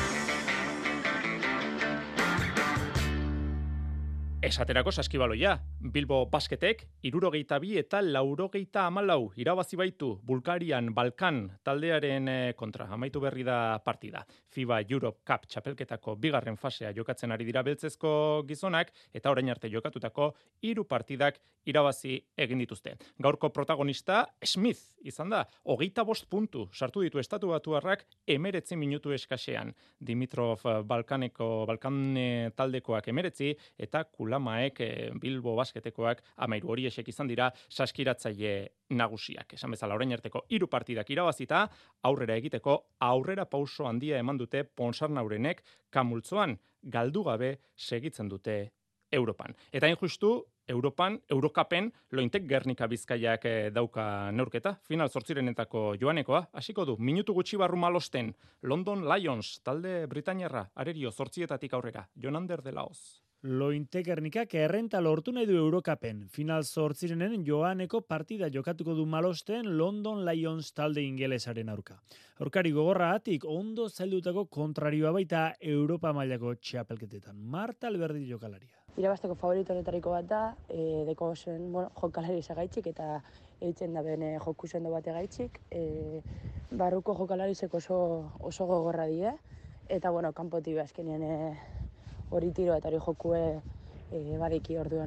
Esaterako saskibaloia, Bilbo Basketek 62 eta 84 irabazi baitu Bulgarian Balkan taldearen kontra. Amaitu berri da partida. FIBA Europe Cup txapelketako bigarren fasea jokatzen ari dira beltzezko gizonak eta orain arte jokatutako 3 partidak irabazi egin dituzte. Gaurko protagonista Smith izan da, 25 puntu sartu ditu Estatu Batuarrak 19 minutu eskasean. Dimitrov Balkan taldekoak 19 eta Kulamaek Bilbo Basketekoak 13 horiek izan dira saskiratzaile nagusiak. Esan bezala orain arteko 3 partidak irabazita, aurrera egiteko aurrera pauso handia eman dute Ponsarnaurenek Kamultzoan, galdu gabe segitzen dute Europan. Eta injustu Europan, Eurokapen, Lointek Gernika Bizkaiak dauka neurketa, final 8renetako joanekoa, hasiko du, minutu gutxi barru malosten, London Lions, talde Britainiarra, arerio 8etatik aurrera, Jonander de Laoz. Lointek Gernikak errenta lortu nahi du Eurokapen. Final 8renen joaneko partida jokatuko du malosten London Lions talde ingelesaren aurka. Aurkari gogorragatik ondo zaildutako kontrarioa baita Europa mailako txapelketetan. Marta Alberdi jokalaria. Irabazteko favorito honetariko bat da, deko zen jokalari izagaitxik eta eitzen da bene joku sendo bate gaitxik. Barruko jokalarizek oso gogorra die, eta kanpotik azkenean hori tiro eta hori jokue badiki orduan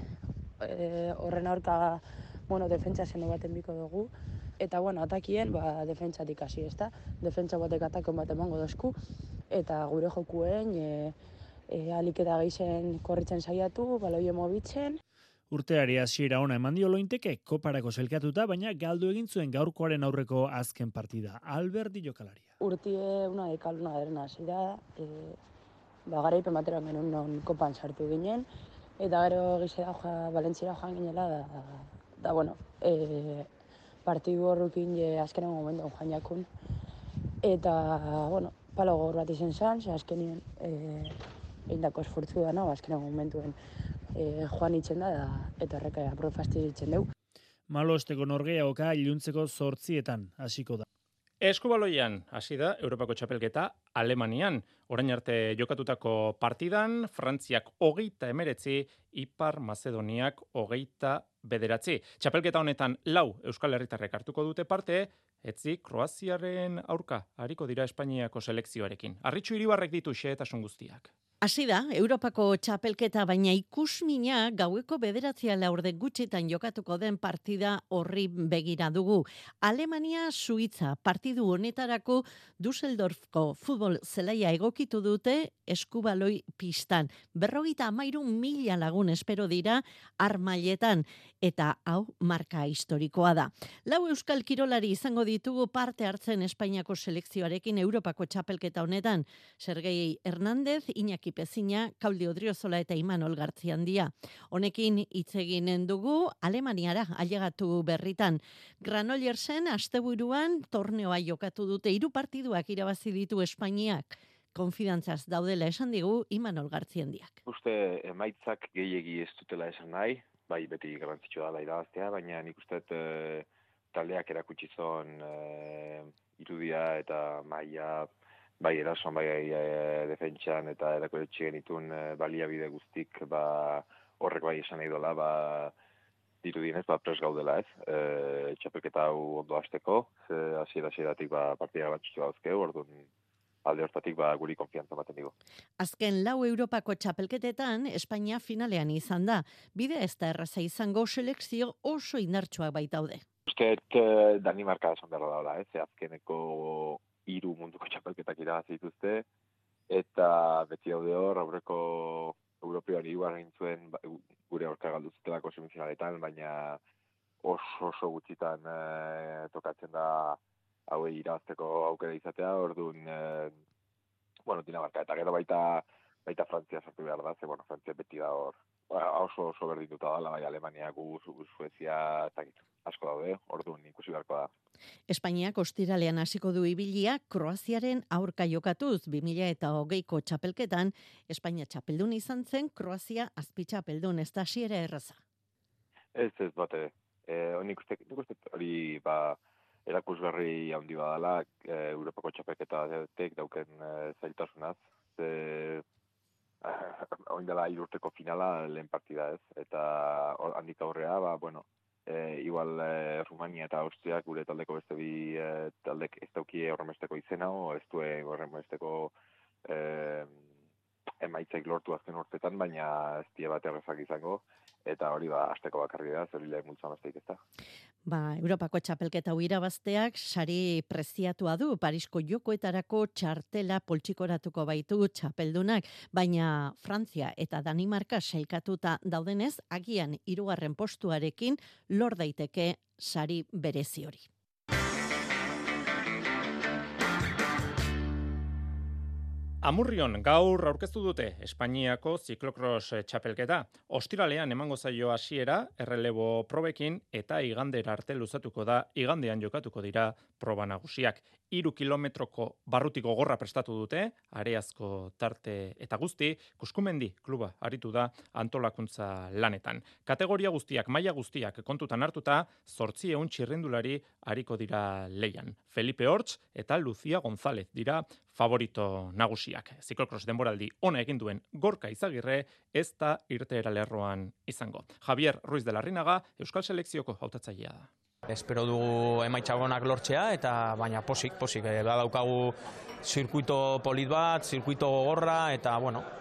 horren aurka defentsa sendo baten biko dugu. Eta atakien defentsatik hasi, ezta? Defentsa batek atakon bat emango dozku, eta gure jokuen alik eta gehien korritzen saiatu, baloie mobitzen. Urteari hasiera ona eman dio Lointeke, koparako selkatuta, baina galdu egin zuen gaurkoaren aurreko azken partida. Alberdi jokalaria. Urtie una de cal, una de arena hasi da, garaipen bateran genuen non kopan sartu ginen, eta gero gizera Valentziara joan ginela, partidu horrekin azkenen momentu joan jakun. Eta, palo gogor bat izen zan, azkenien eindako esfortzu da, azkenen momentuen joan itzen da, eta horreka aprofasti itzen dugu. Malosteko norgehiagoka iluntzeko 8etan hasiko da. Eskubaloian hasi da Europako txapelketa Alemanian. Orain arte jokatutako partidan, Frantziak 39, Ipar Mazedoniak 29. Txapelketa honetan 4 Euskal Herritarrek hartuko dute parte, etzi Kroaziaren aurka hariko dira Espainiako selekzioarekin. Arritxu Iribarrek ditu xehetasun guztiak. Hasi da, Europako txapelketa, baina ikusmina gaueko 9:00 gutxitan jokatuko den partida horri begira dugu. Alemania Suitza partidu honetarako Düsseldorfko futbol zelaia egokitu dute eskubaloi pistan. 53.000 lagun espero dira armailetan, eta hau marka historikoa da. 4 euskal kirolari izango ditugu parte hartzen Espainiako selekzioarekin Europako txapelketa honetan. Sergei Hernández, Iñaki Pezina, Kaudi Odriozola eta Imanol Gartziandia. Honekin hitz eginen dugu Alemaniara ailegatu berritan. Granollersen asteburuan torneoa jokatu dute, 3 partiduak irabazi ditu Espainiak. Konfidantzaz daudela esan digu Imanol Gartziandiak. Uste emaitzak gehiegi ez dutela esan nahi, bai beti garrantzitsua dela irabaztea, baina nik uste taldeak erakutsi zon irudia eta maila, bai erasoan, bai defentsan eta erakutsi genitun baliabide guztik, horrek bai esan nahi dola, dirudienez, pres gaudela ez, txapelketa hau ondo hasteko, hasieratik partida garrantzitsu dauzkeu, orduan alde hortatik guri konfiantza baten digu. Azken 4 Europako txapelketetan Espainia finalean izan da. Bide ez da erraza izango, selekzio oso indartsuak baitaude. Usteet Danimarka esan behar daula, azkeneko 3 munduko txapelketak irabazi dituzte, eta beti daude hor, aurreko European hirugarren zuen gure aurka galdu zutelako semifinaletan, baina oso gutxitan tokatzen da hauei irabazteko aukera izatea, orduan, Dinamarka, eta gero baita Frantzia sartu behar da, Frantzia beti da hor, oso berdinduta dela, bai Alemania, Suezia, asko daude, orduan ikusi beharko da. Espainiak ostiralean hasiko du ibilia Kroaziaren aurka jokatuz 2020ko txapelketan, Espainia txapeldun izan zen, Kroazia azpitxapeldun, ez da hasiera erraza. Ez bate, nik uste hori erakusgarri handi badala, Europako txapelketatek dauken zailtasunaz, oin dela 3 urteko finala lehen partida ez, eta handik aurrea, igual Rumania eta Austria gure taldeko beste bi taldek ez daukie horremesteko izena, ez duen horremesteko emaitzaik lortu azken urtetan, baina ez die bat errezak izango, eta hori hasteko bakarri da, zer lehen multzan besteik ez da. Europako txapelketa irabazteak sari preziatua du, Parisko jokoetarako txartela poltsikoratuko baitu txapeldunak, baina Frantzia eta Danimarka sailkatuta daudenez, agian 3. postuarekin lor daiteke sari berezi hori. Amurrion gaur aurkeztu dute Espainiako ziklokros txapelketa. Ostiralean emango zaio hasiera errelebo probekin eta igandera arte luzatuko da, igandean jokatuko dira proba nagusiak. 3 kilometroko barrutiko gorra prestatu dute, areazko tarte eta guzti, Kuskumendi kluba aritu da antolakuntza lanetan. Kategoria guztiak, maila guztiak kontutan hartuta, 800 txirrindulari ariko dira leian. Felipe Hortz eta Lucia González dira favorito nagusiak. Ziklokros denboraldi ona egin duen Gorka Izagirre ez da irteera lerroan izango. Javier Ruiz de la Rinaga, Euskal Selekzioko hautatzailea da. Espero dugu emaitza onak lortzea, eta baina posik, daukagu zirkuito polit bat, zirkuito gogorra, eta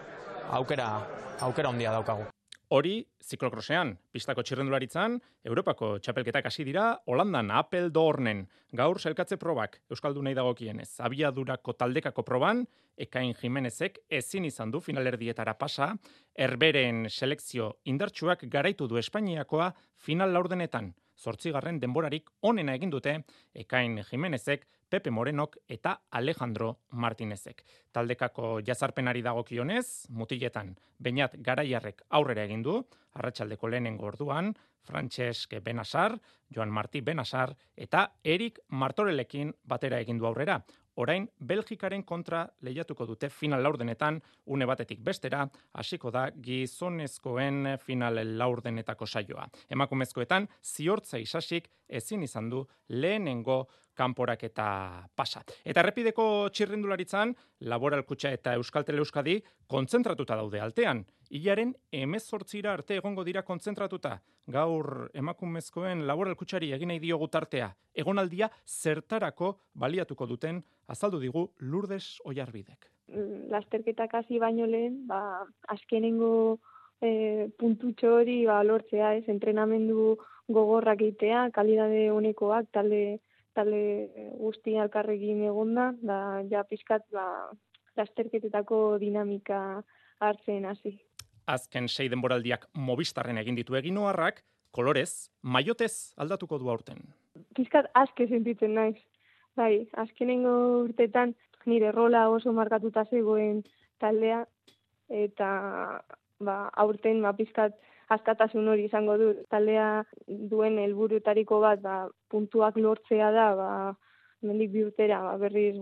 aukera handia daukagu. Hori, ziklokrosean, pistako txirrendularitzan, Europako txapelketak hasi dira, Holandan Apeldoornen, gaur sailkatze probak, Euskaldunei dagokienez. Abiadurako taldekako proban, Ekain Jimenezek ezin izan du finalerdietara pasa, Herberen selekzio indartsuak garaitu du Espainiakoa final laurdenetan. 8. denborarik onena egin dute Ekain Jimenezek, Pepe Morenok eta Alejandro Martinezek. Taldekako jazarpenari dagokionez, mutiletan Beñat Garaiarrek aurrera egin du, arratsaldeko lehenengo orduan, Francesc Benasar, Joan Martí Benasar eta Erik Martorellekin batera egin du aurrera. Orain, Belgikaren kontra lehiatuko dute final laurdenetan, une batetik bestera, hasiko da gizonezkoen final laurdenetako saioa. Emakumezkoetan, Ziortza Isasik ezin izan du lehenengo kanporaketa pasa. Eta errepideko txirrindularitzan, Laboral Kutxa eta Euskaltel Euskadi kontzentratuta daude altean. Hilaren 18 arte egongo dira kontzentratuta. Gaur emakumezkoen Laboral Kutxari egin nahi diogu tartea. Egonaldia zertarako baliatuko duten azaldu digu Lourdes Oiarbidek. Lasterketak hasi baino lehen, azkenengo puntutxo hori lortzea, entrenamendu gogorrak egitea, kalidade honekoak, talde guzti alkarrekin egonda, ja pizkat lasterketetako dinamika hartzen hasi. Azken 6 denboraldiak Movistarren egin ditu eginoarrak, kolorez, maiotez aldatuko du aurten. Pizkat aske sentitzen naiz. Bai, azkenengo urtetan nire rola oso markatuta zegoen taldea, eta aurten pizkat askatasun hori izango du. Taldea duen helburutariko bat puntuak lortzea da, mendik bi urtera berriz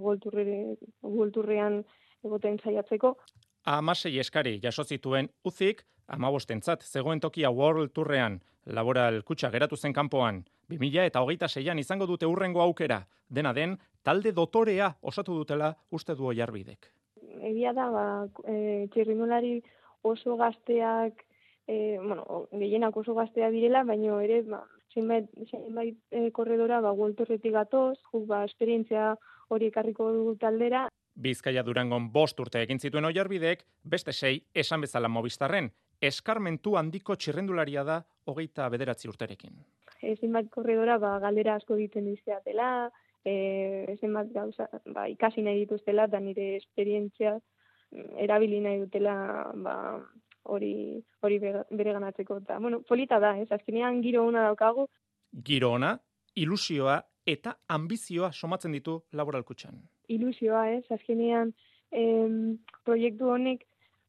World egoten saiatzeko. 16 eskari jaso zituen Uzik, 15entzat zegoen tokia World Tourrean, Laboral kutxa geratu zen kanpoan. 2026an izango dute hurrengo aukera. Dena den, talde dotorea osatu dutela uste du Oiarbidek. Egia da, txirrindulari oso gazteak, gehienak oso gazteak direla, baina ere, zenbait korredora World Tourretik gatoz, esperientzia hori ekarriko du taldera. Bizkaia Durangon 5 urte egin zituen Oiarbidek, beste 6 esan bezala Movistarren. Eskarmentu handiko txirrendularia da 29 urterekin. Zenbat korredora galdera asko egiten dizkiatela, zenbat gauza ikasi nahi dituztela, eta nire esperientzia erabili nahi dutela hori bere ganatzeko. Eta, polita da, azkenean giro ona daukagu. Giro ona, ilusioa eta ambizioa somatzen ditu Laboral kutxan. Ilusioa, azkenean proiektu honek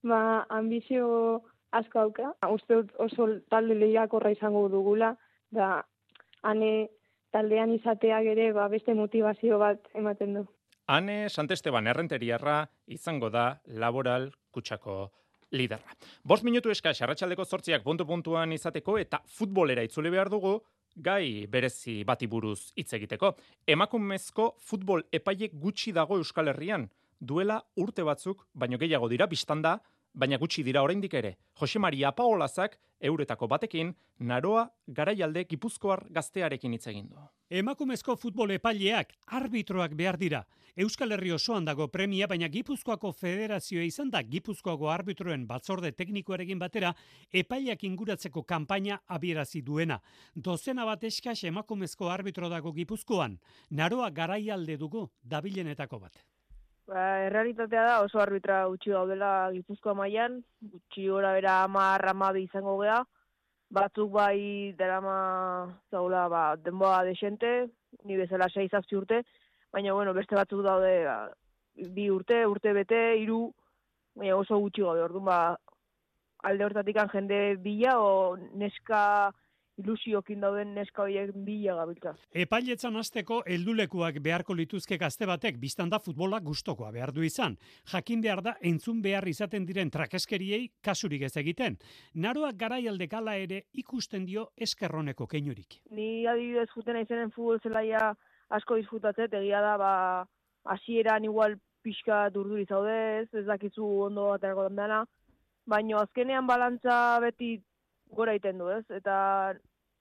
ambizio asko dauka. Uste dut oso talde lehiakorra izango dugula, da ane taldean izateak ere beste motivazio bat ematen du. Ane Santesteban errenteriarra izango da Laboral kutxako liderra. 5 minutu eskas arratsaldeko 8ak puntu-puntuan izateko eta futbolera itzuli behar dugu, gai berezi bati buruz hitz egiteko. Emakumezko futbol epaile gutxi dago Euskal Herrian. Duela urte batzuk, baino gehiago dira biztanda, baina gutxi dira oraindik ere. Jose Maria Apaolazak euretako batekin Naroa Garaialde Gipuzkoar gaztearekin hitz egin du. Emakumezko futbol epaileak arbitroak behar dira. Euskal Herri osoan dago premia, baina Gipuzkoako federazioa izan da Gipuzkoako arbitroen batzorde teknikoarekin batera epaileak inguratzeko kanpaina abierazi duena. Dozena bat eskas emakumezko arbitro dago Gipuzkoan. Naroa Garaialde dugu dabilenetako bat. Errealitatea da oso arbitra gutxi gaudela Gipuzkoa mailan, gutxi gora bera 10-12 izango gea. Batzuk bai darama zaula denboa desente, ni bezala 6-7 urte, baina beste batzuk daude 2 urte bete, 3, baina oso gutxi gaude. Orduan alde hortatik jende bila o neska ilusiokin dauden neska horiek bila gabiltza. Epailetzan hasteko heldulekuak beharko lituzke gazte batek, biztan da futbola gustokoa behar du izan. Jakin behar da entzun behar izaten diren trakeskeriei kasurik ez egiten. Naroa Garaialde gala ere ikusten dio eskerroneko keinurik. Ni adibidez juten aizenen futbol zelaia asko disfrutatzet, egia da hasieran igual pixka durduri zaude, ez dakizu ondo aterako dena, baina azkenean balantza beti gora iten du, ez? Eta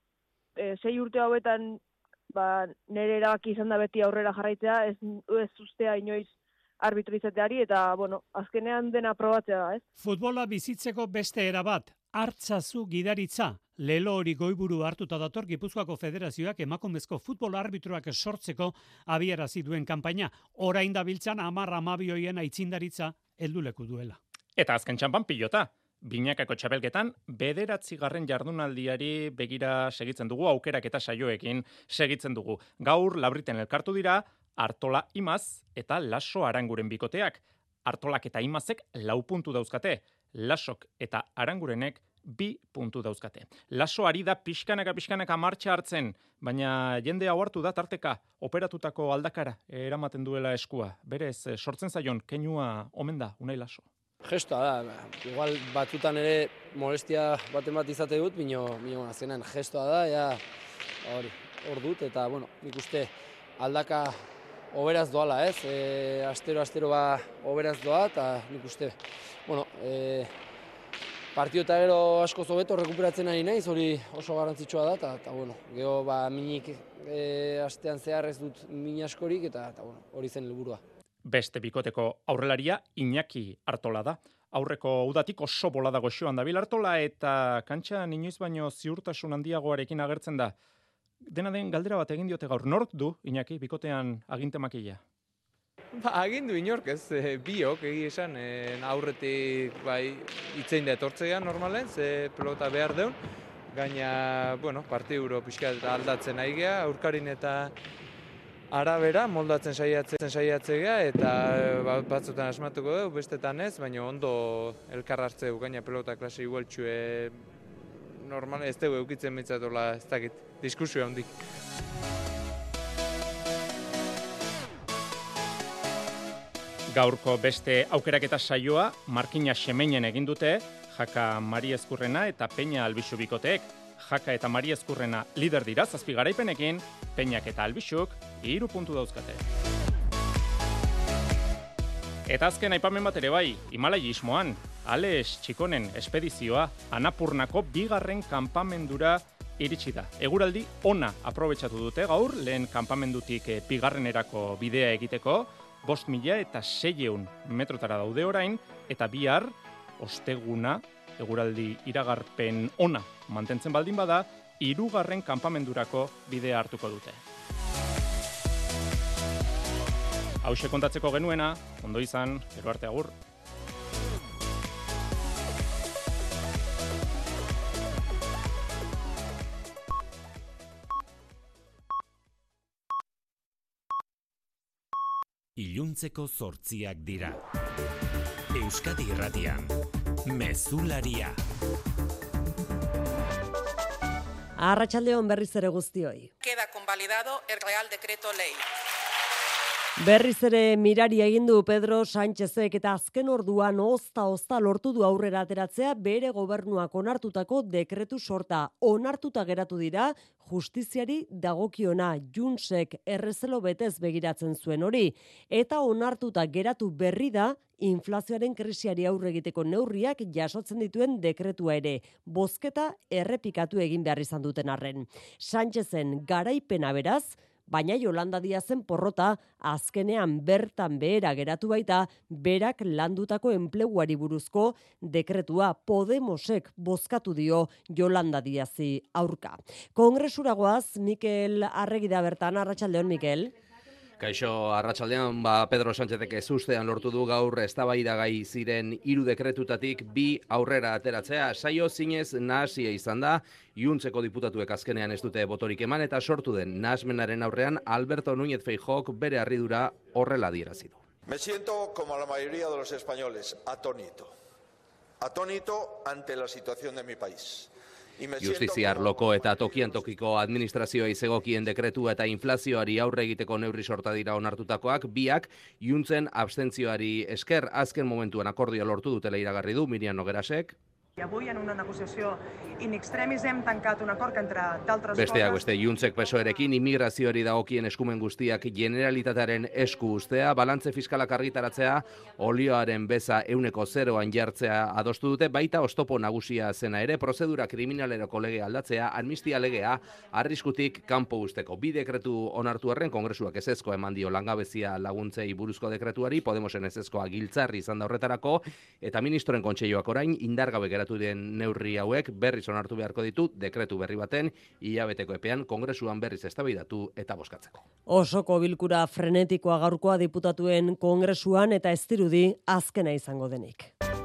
6 urte hauetan nire erabaki izan da beti aurrera jarraitzea, ez ustea inoiz arbitro izateari, eta azkenean dena probatzea da, ez? Futbola bizitzeko beste era bat, hartzazu gidaritza. Lelo hori goiburu hartuta dator Gipuzkoako Federazioak emakumezko futbol arbitroak sortzeko abiarazi duen kanpaina. Orain dabiltzan 10-12 hoien aitzindaritza helduleku duela. Eta azken txanpan pilota. Binakako txapelketan, 9. jardunaldiari begira segitzen dugu, aukerak eta saioekin segitzen dugu. Gaur, Labriten elkartu dira, Artola Imaz eta Laso Aranguren bikoteak. Artolak eta Imazek 4 puntu dauzkate, Lasok eta Arangurenek 2 puntu dauzkate. Laso ari da pixkanaka martxa hartzen, baina jende hau hartu da tarteka, operatutako aldakara eramaten duela eskua. Berez, sortzen zaion, keinua omen da, Unai Laso. Gestoa da, igual batzutan ere molestia baten bat izate dut, bino azkenan gestoa da, hor dut, eta nik uste aldaka oberaz doala, ez? Astero oberaz doa, eta nik uste, partio eta gero asko zobeto rekuperatzen ari naiz, hori oso garrantzitsua da, eta gero minik astean zehar ez dut min askorik, eta hori zen helburua. Beste bikoteko aurrelaria Iñaki Artola da. Aurreko udatik oso bolada goxoan dabil Artola eta kantxan inoiz baino ziurtasun handiagoarekin agertzen da. Dena den galdera bat egin diote gaur. Nork du Iñaki bikotean agintemakila? Agindu inork ez, biok egia esan, aurretik itzein da etortzean normalen, ze pelota behar deun. Gaina, partidu pixka aldatzen ari gea, aurkarin eta arabera moldatzen saiatzea eta batzutan asmatuko dugu, bestetan ez, baina ondo elkar hartzeu gaina pelota klase igualtxue normal ez dugu eukitzen mitzatola ez dakit, diskusio handik. Gaurko beste aukeraketa saioa Markina Xemeinen egin dute, Jaka Mari Ezkurrena eta Peña Albixu bikoteek. Jaka eta Mari Ezkurrena lider dira 7 garaipenekin, Peñak eta Albixuk 3 puntu dauzkate. Eta azken aipamen bat ere bai, Himalaiismoan, Alex Txikonen espedizioa Anapurnako 2. kanpamendura iritsi da. Eguraldi ona aprobetxatu dute gaur, lehen kanpamendutik 2. bidea egiteko, 5.600 metrotara daude orain, eta bihar, osteguna, eguraldi iragarpen ona mantentzen baldin bada, 3. kanpamendurako bidea hartuko dute. Hauxe kontatzeko genuena, ondo izan, gero arte agur. Iluntzeko 8 dira. Euskadi Irratian, Mezularia. Arratsaldeon berriz ere guztioi. Queda convalidado el Real Decreto Ley. Berriz ere mirari egin du Pedro Sánchezek eta azken orduan ozta lortu du aurrera ateratzea bere gobernuak onartutako dekretu sorta. Onartuta geratu dira justiziari dagokiona, Juntsek errezelo betez begiratzen zuen hori, eta onartuta geratu berri da inflazioaren krisiari aurre egiteko neurriak jasotzen dituen dekretua ere, bozketa errepikatu egin behar izan duten arren. Sánchezen garaipena beraz, baina Yolanda Díazen porrota azkenean bertan behera geratu baita berak landutako enpleguari buruzko dekretua Podemosek bozkatu dio Yolanda Díazi aurka. Kongresuragoaz, Mikel Arregi da bertan, arratsaldeon Mikel. Kaixo, arratsaldean, Pedro Sánchezek ezustean lortu du gaur eztabaidagai ziren 3 dekretutatik 2 aurrera ateratzea. Saio zinez nahasia izan da, Juntseko diputatuek azkenean ez dute botorik eman eta sortu den nahasmenaren aurrean Alberto Núñez Feijóok bere harridura horrela adierazi du. Me siento como la mayoría de los españoles, atónito. Atónito ante la situación de mi país. Justizia arloko eta tokian tokiko administrazioa izegokien dekretua eta inflazioari aurre egiteko neurri sorta dira onartutakoak, biak Juntzen abstentzioari esker azken momentuan akordioa lortu dutela iragarri du Miriam Noguerasek. Avui en una negociació in extremis hem tancat un acord que entre d'altres Besteak beste Juntsek PSOErekin immigrazioari dagokien eskumen guztiak Generalitatearen esku ustea, balantze fiskalak argitaratzea, olioaren beza 0% jartzea adostu dute, baita oztopo nagusia zena ere, prozedura kriminaleroko legea aldatzea, amnistia legea arriskutik kanpo usteko. 2 dekretu onartu arren Kongresuak ezezko eman dio langabezia laguntzei buruzko dekretuari, Podemosen ezezkoa giltzarri izan da horretarako, eta ministroen kontseiluak orain indargabe geratu den neurri hauek berriz onartu beharko ditu dekretu berri baten hilabeteko epean Kongresuan berriz eztabaidatu eta bozkatzeko. Osoko bilkura frenetikoa gaurkoa diputatuen Kongresuan eta ez dirudi azkena izango denik.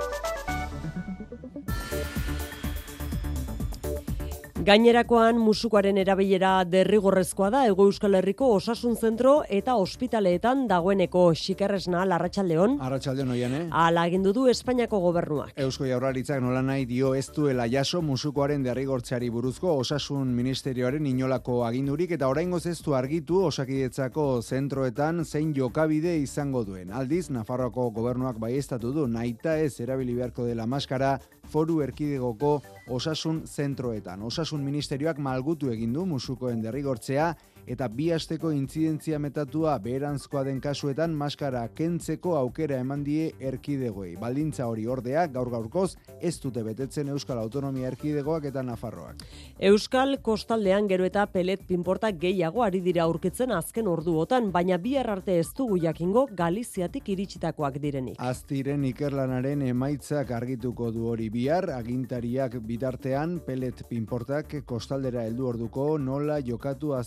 Gainerakoan musukoaren erabilera derrigorrezkoa da Hego Euskal Herriko osasun zentro eta ospitaleetan dagoeneko. Xikerresna, arratsaldeon. Arratsaldeon Oiane. Hala agindu du Espainiako gobernuak. Eusko Jaurlaritzak nolanahi dio ez duela jaso musukoaren derrigortzeari buruzko osasun ministerioaren inolako agindurik eta oraingoz ez du argitu Osakidetzako zentroetan zein jokabide izango duen. Aldiz, Nafarroako gobernuak baieztatu du nahita ez erabili beharko dela maskara Foru Erkidegoko osasun zentroetan. Osasun ministerioak malgutu egin du musukoen derrigortzea eta 2 asteko intzidentzia metatua beheranzkoa den kasuetan maskara kentzeko aukera eman die erkidegoei. Baldintza hori ordea gaur-gaurkoz ez dute betetzen Euskal Autonomia Erkidegoak eta Nafarroak. Euskal kostaldean gero eta pelet pinporta gehiago ari dira aurkitzen azken orduotan, baina bihar arte ez dugu jakingo Galiziatik iritsitakoak direnik. Aztiren ikerlanaren emaitzak argituko du hori bihar, agintariak bitartean pelet pinportak kostaldera heldu orduko nola jokatu aztertzen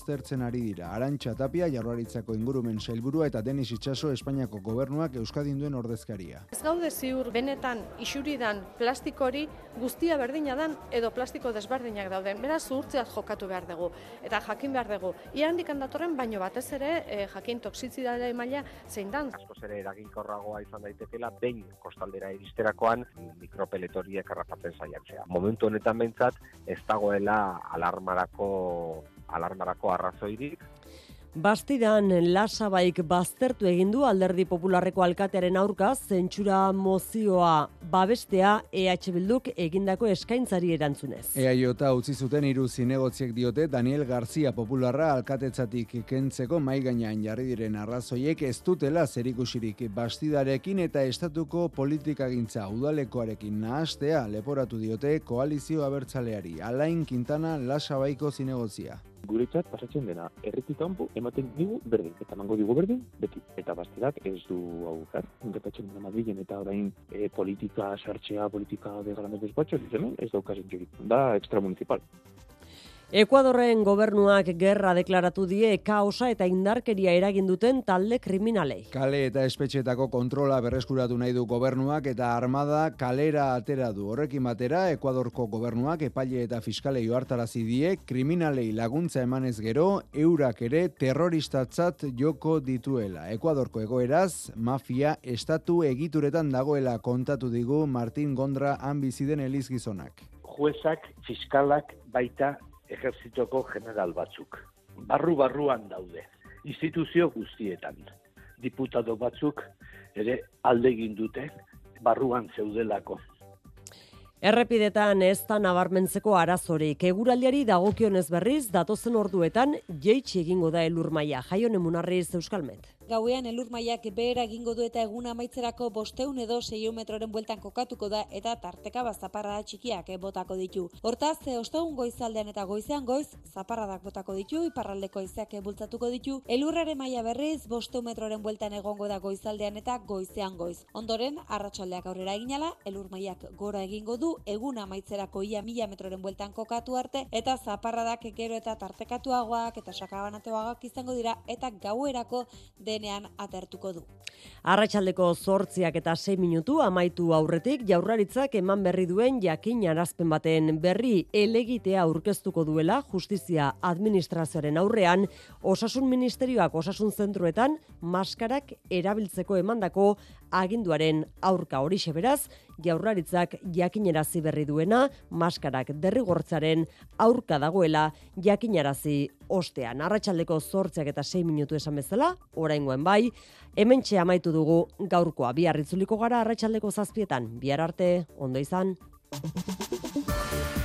ari dira. Arantxa Tapia, Jaurlaritzako ingurumen sailburua eta Denis Itxaso, Espainiako gobernuak Euskadin duen ordezkaria. Ez gaude ziur benetan isuridan plastikori guztia berdina dan edo plastiko desberdinak dauden. Beraz, zuhurtzeaz jokatu behar dugu eta jakin behar dugu. Ia handikan datorren, baino batez ere jakin toxizidade maila zein dan. Askoz ere eraginkorragoa izan daitekela behin kostaldera iristerakoan mikropeletoriek harrapatzen saiatzea. Momentu honetan behintzat ez dagoela alarmarako arrazoirik. Bastidan Lasabaik baztertu egin du Alderdi Popularreko alkatearen aurka zentsura mozioa babestea EH Bilduk egindako eskaintzari erantzunez. EAJ utzi zuten 3 zinegotziek diote Daniel García Popularra alkatetzatik kentzeko mahai gainean jarri diren arrazoiek ez dutela zerikusirik Bastidarekin eta estatuko politikagintza udalekoarekin nahastea leporatu diote koalizio abertzaleari. Alain Quintana Lasabaiko zinegotzia. Guretzat pasatzen dena erretik kanpo ematen digu berdin, eta emango digu berdin beti. Eta Bastidak ez du aukar, gertatzen dena Madrilen eta orain politika sartzea, politika de grandes despachos, ez daukazen jurik. Da extramunicipal. Ekuadorren gobernuak gerra deklaratu die kaosa eta indarkeria eragin duten talde kriminalei. Kale eta espetxetako kontrola berreskuratu nahi du gobernuak eta armada kalera atera du. Horrekin batera, Ekuadorko gobernuak epaile eta fiskalei ohartarazi die kriminalei laguntza emanez gero, eurak ere terroristatzat joko dituela. Ekuadorko egoeraz, mafia estatu egituretan dagoela kontatu digu Martin Gondra han bizi den elizgizonak. Juezak, fiskalak baita ejertzitoko general batzuk. Barruan daude, instituzio guztietan. Diputado batzuk ere alde egin dute barruan zeudelako. Errepidetan ez da nabarmentzeko arazorik. Eguraldiari dagokionez berriz, datozen orduetan jeitsi egingo da elurmaila. Jaion Emunarriz, Euskalmet. Gauean elurmailak behera egingo du eta egun amaitzerako 500 edo 600 metroren bueltan kokatuko da eta tarteka zaparrada txikiak botako ditu. Hortaz, ostegun goizaldean eta goizean goiz zaparradak botako ditu, iparraldeko haizeak bultzatuko ditu. Elurraren maila berriz 500 metroren bueltan egongo da goizaldean eta goizean goiz. Ondoren, arratsaldeak aurrera eginala, elurmailak gora egingo du, egun amaitzerako ia 1000 metroren bueltan kokatu arte eta zaparradak gero eta tartekatuagoak eta sakabanatuagoak izango dira eta gauerako denean atertuko du. Arratsaldeko 8 eta 6 minutu amaitu aurretik Jaurlaritzak eman berri duen jakin arazpen baten berri elegitea aurkeztuko duela Justizia Administrazioaren aurrean Osasun Ministerioak osasun zentroetan maskarak erabiltzeko emandako aginduaren aurka. Horixe beraz, Jaurlaritzak jakinarazi berri duena maskarak derrigortzaren aurka dagoela jakinarazi ostean. Arratsaldeko 8 eta 6 minutu esan bezala, oraingoen bai, hementxe amaitu dugu gaurkoa. Bihar itzuliko gara arratsaldeko 7etan. Bihar arte, ondo izan.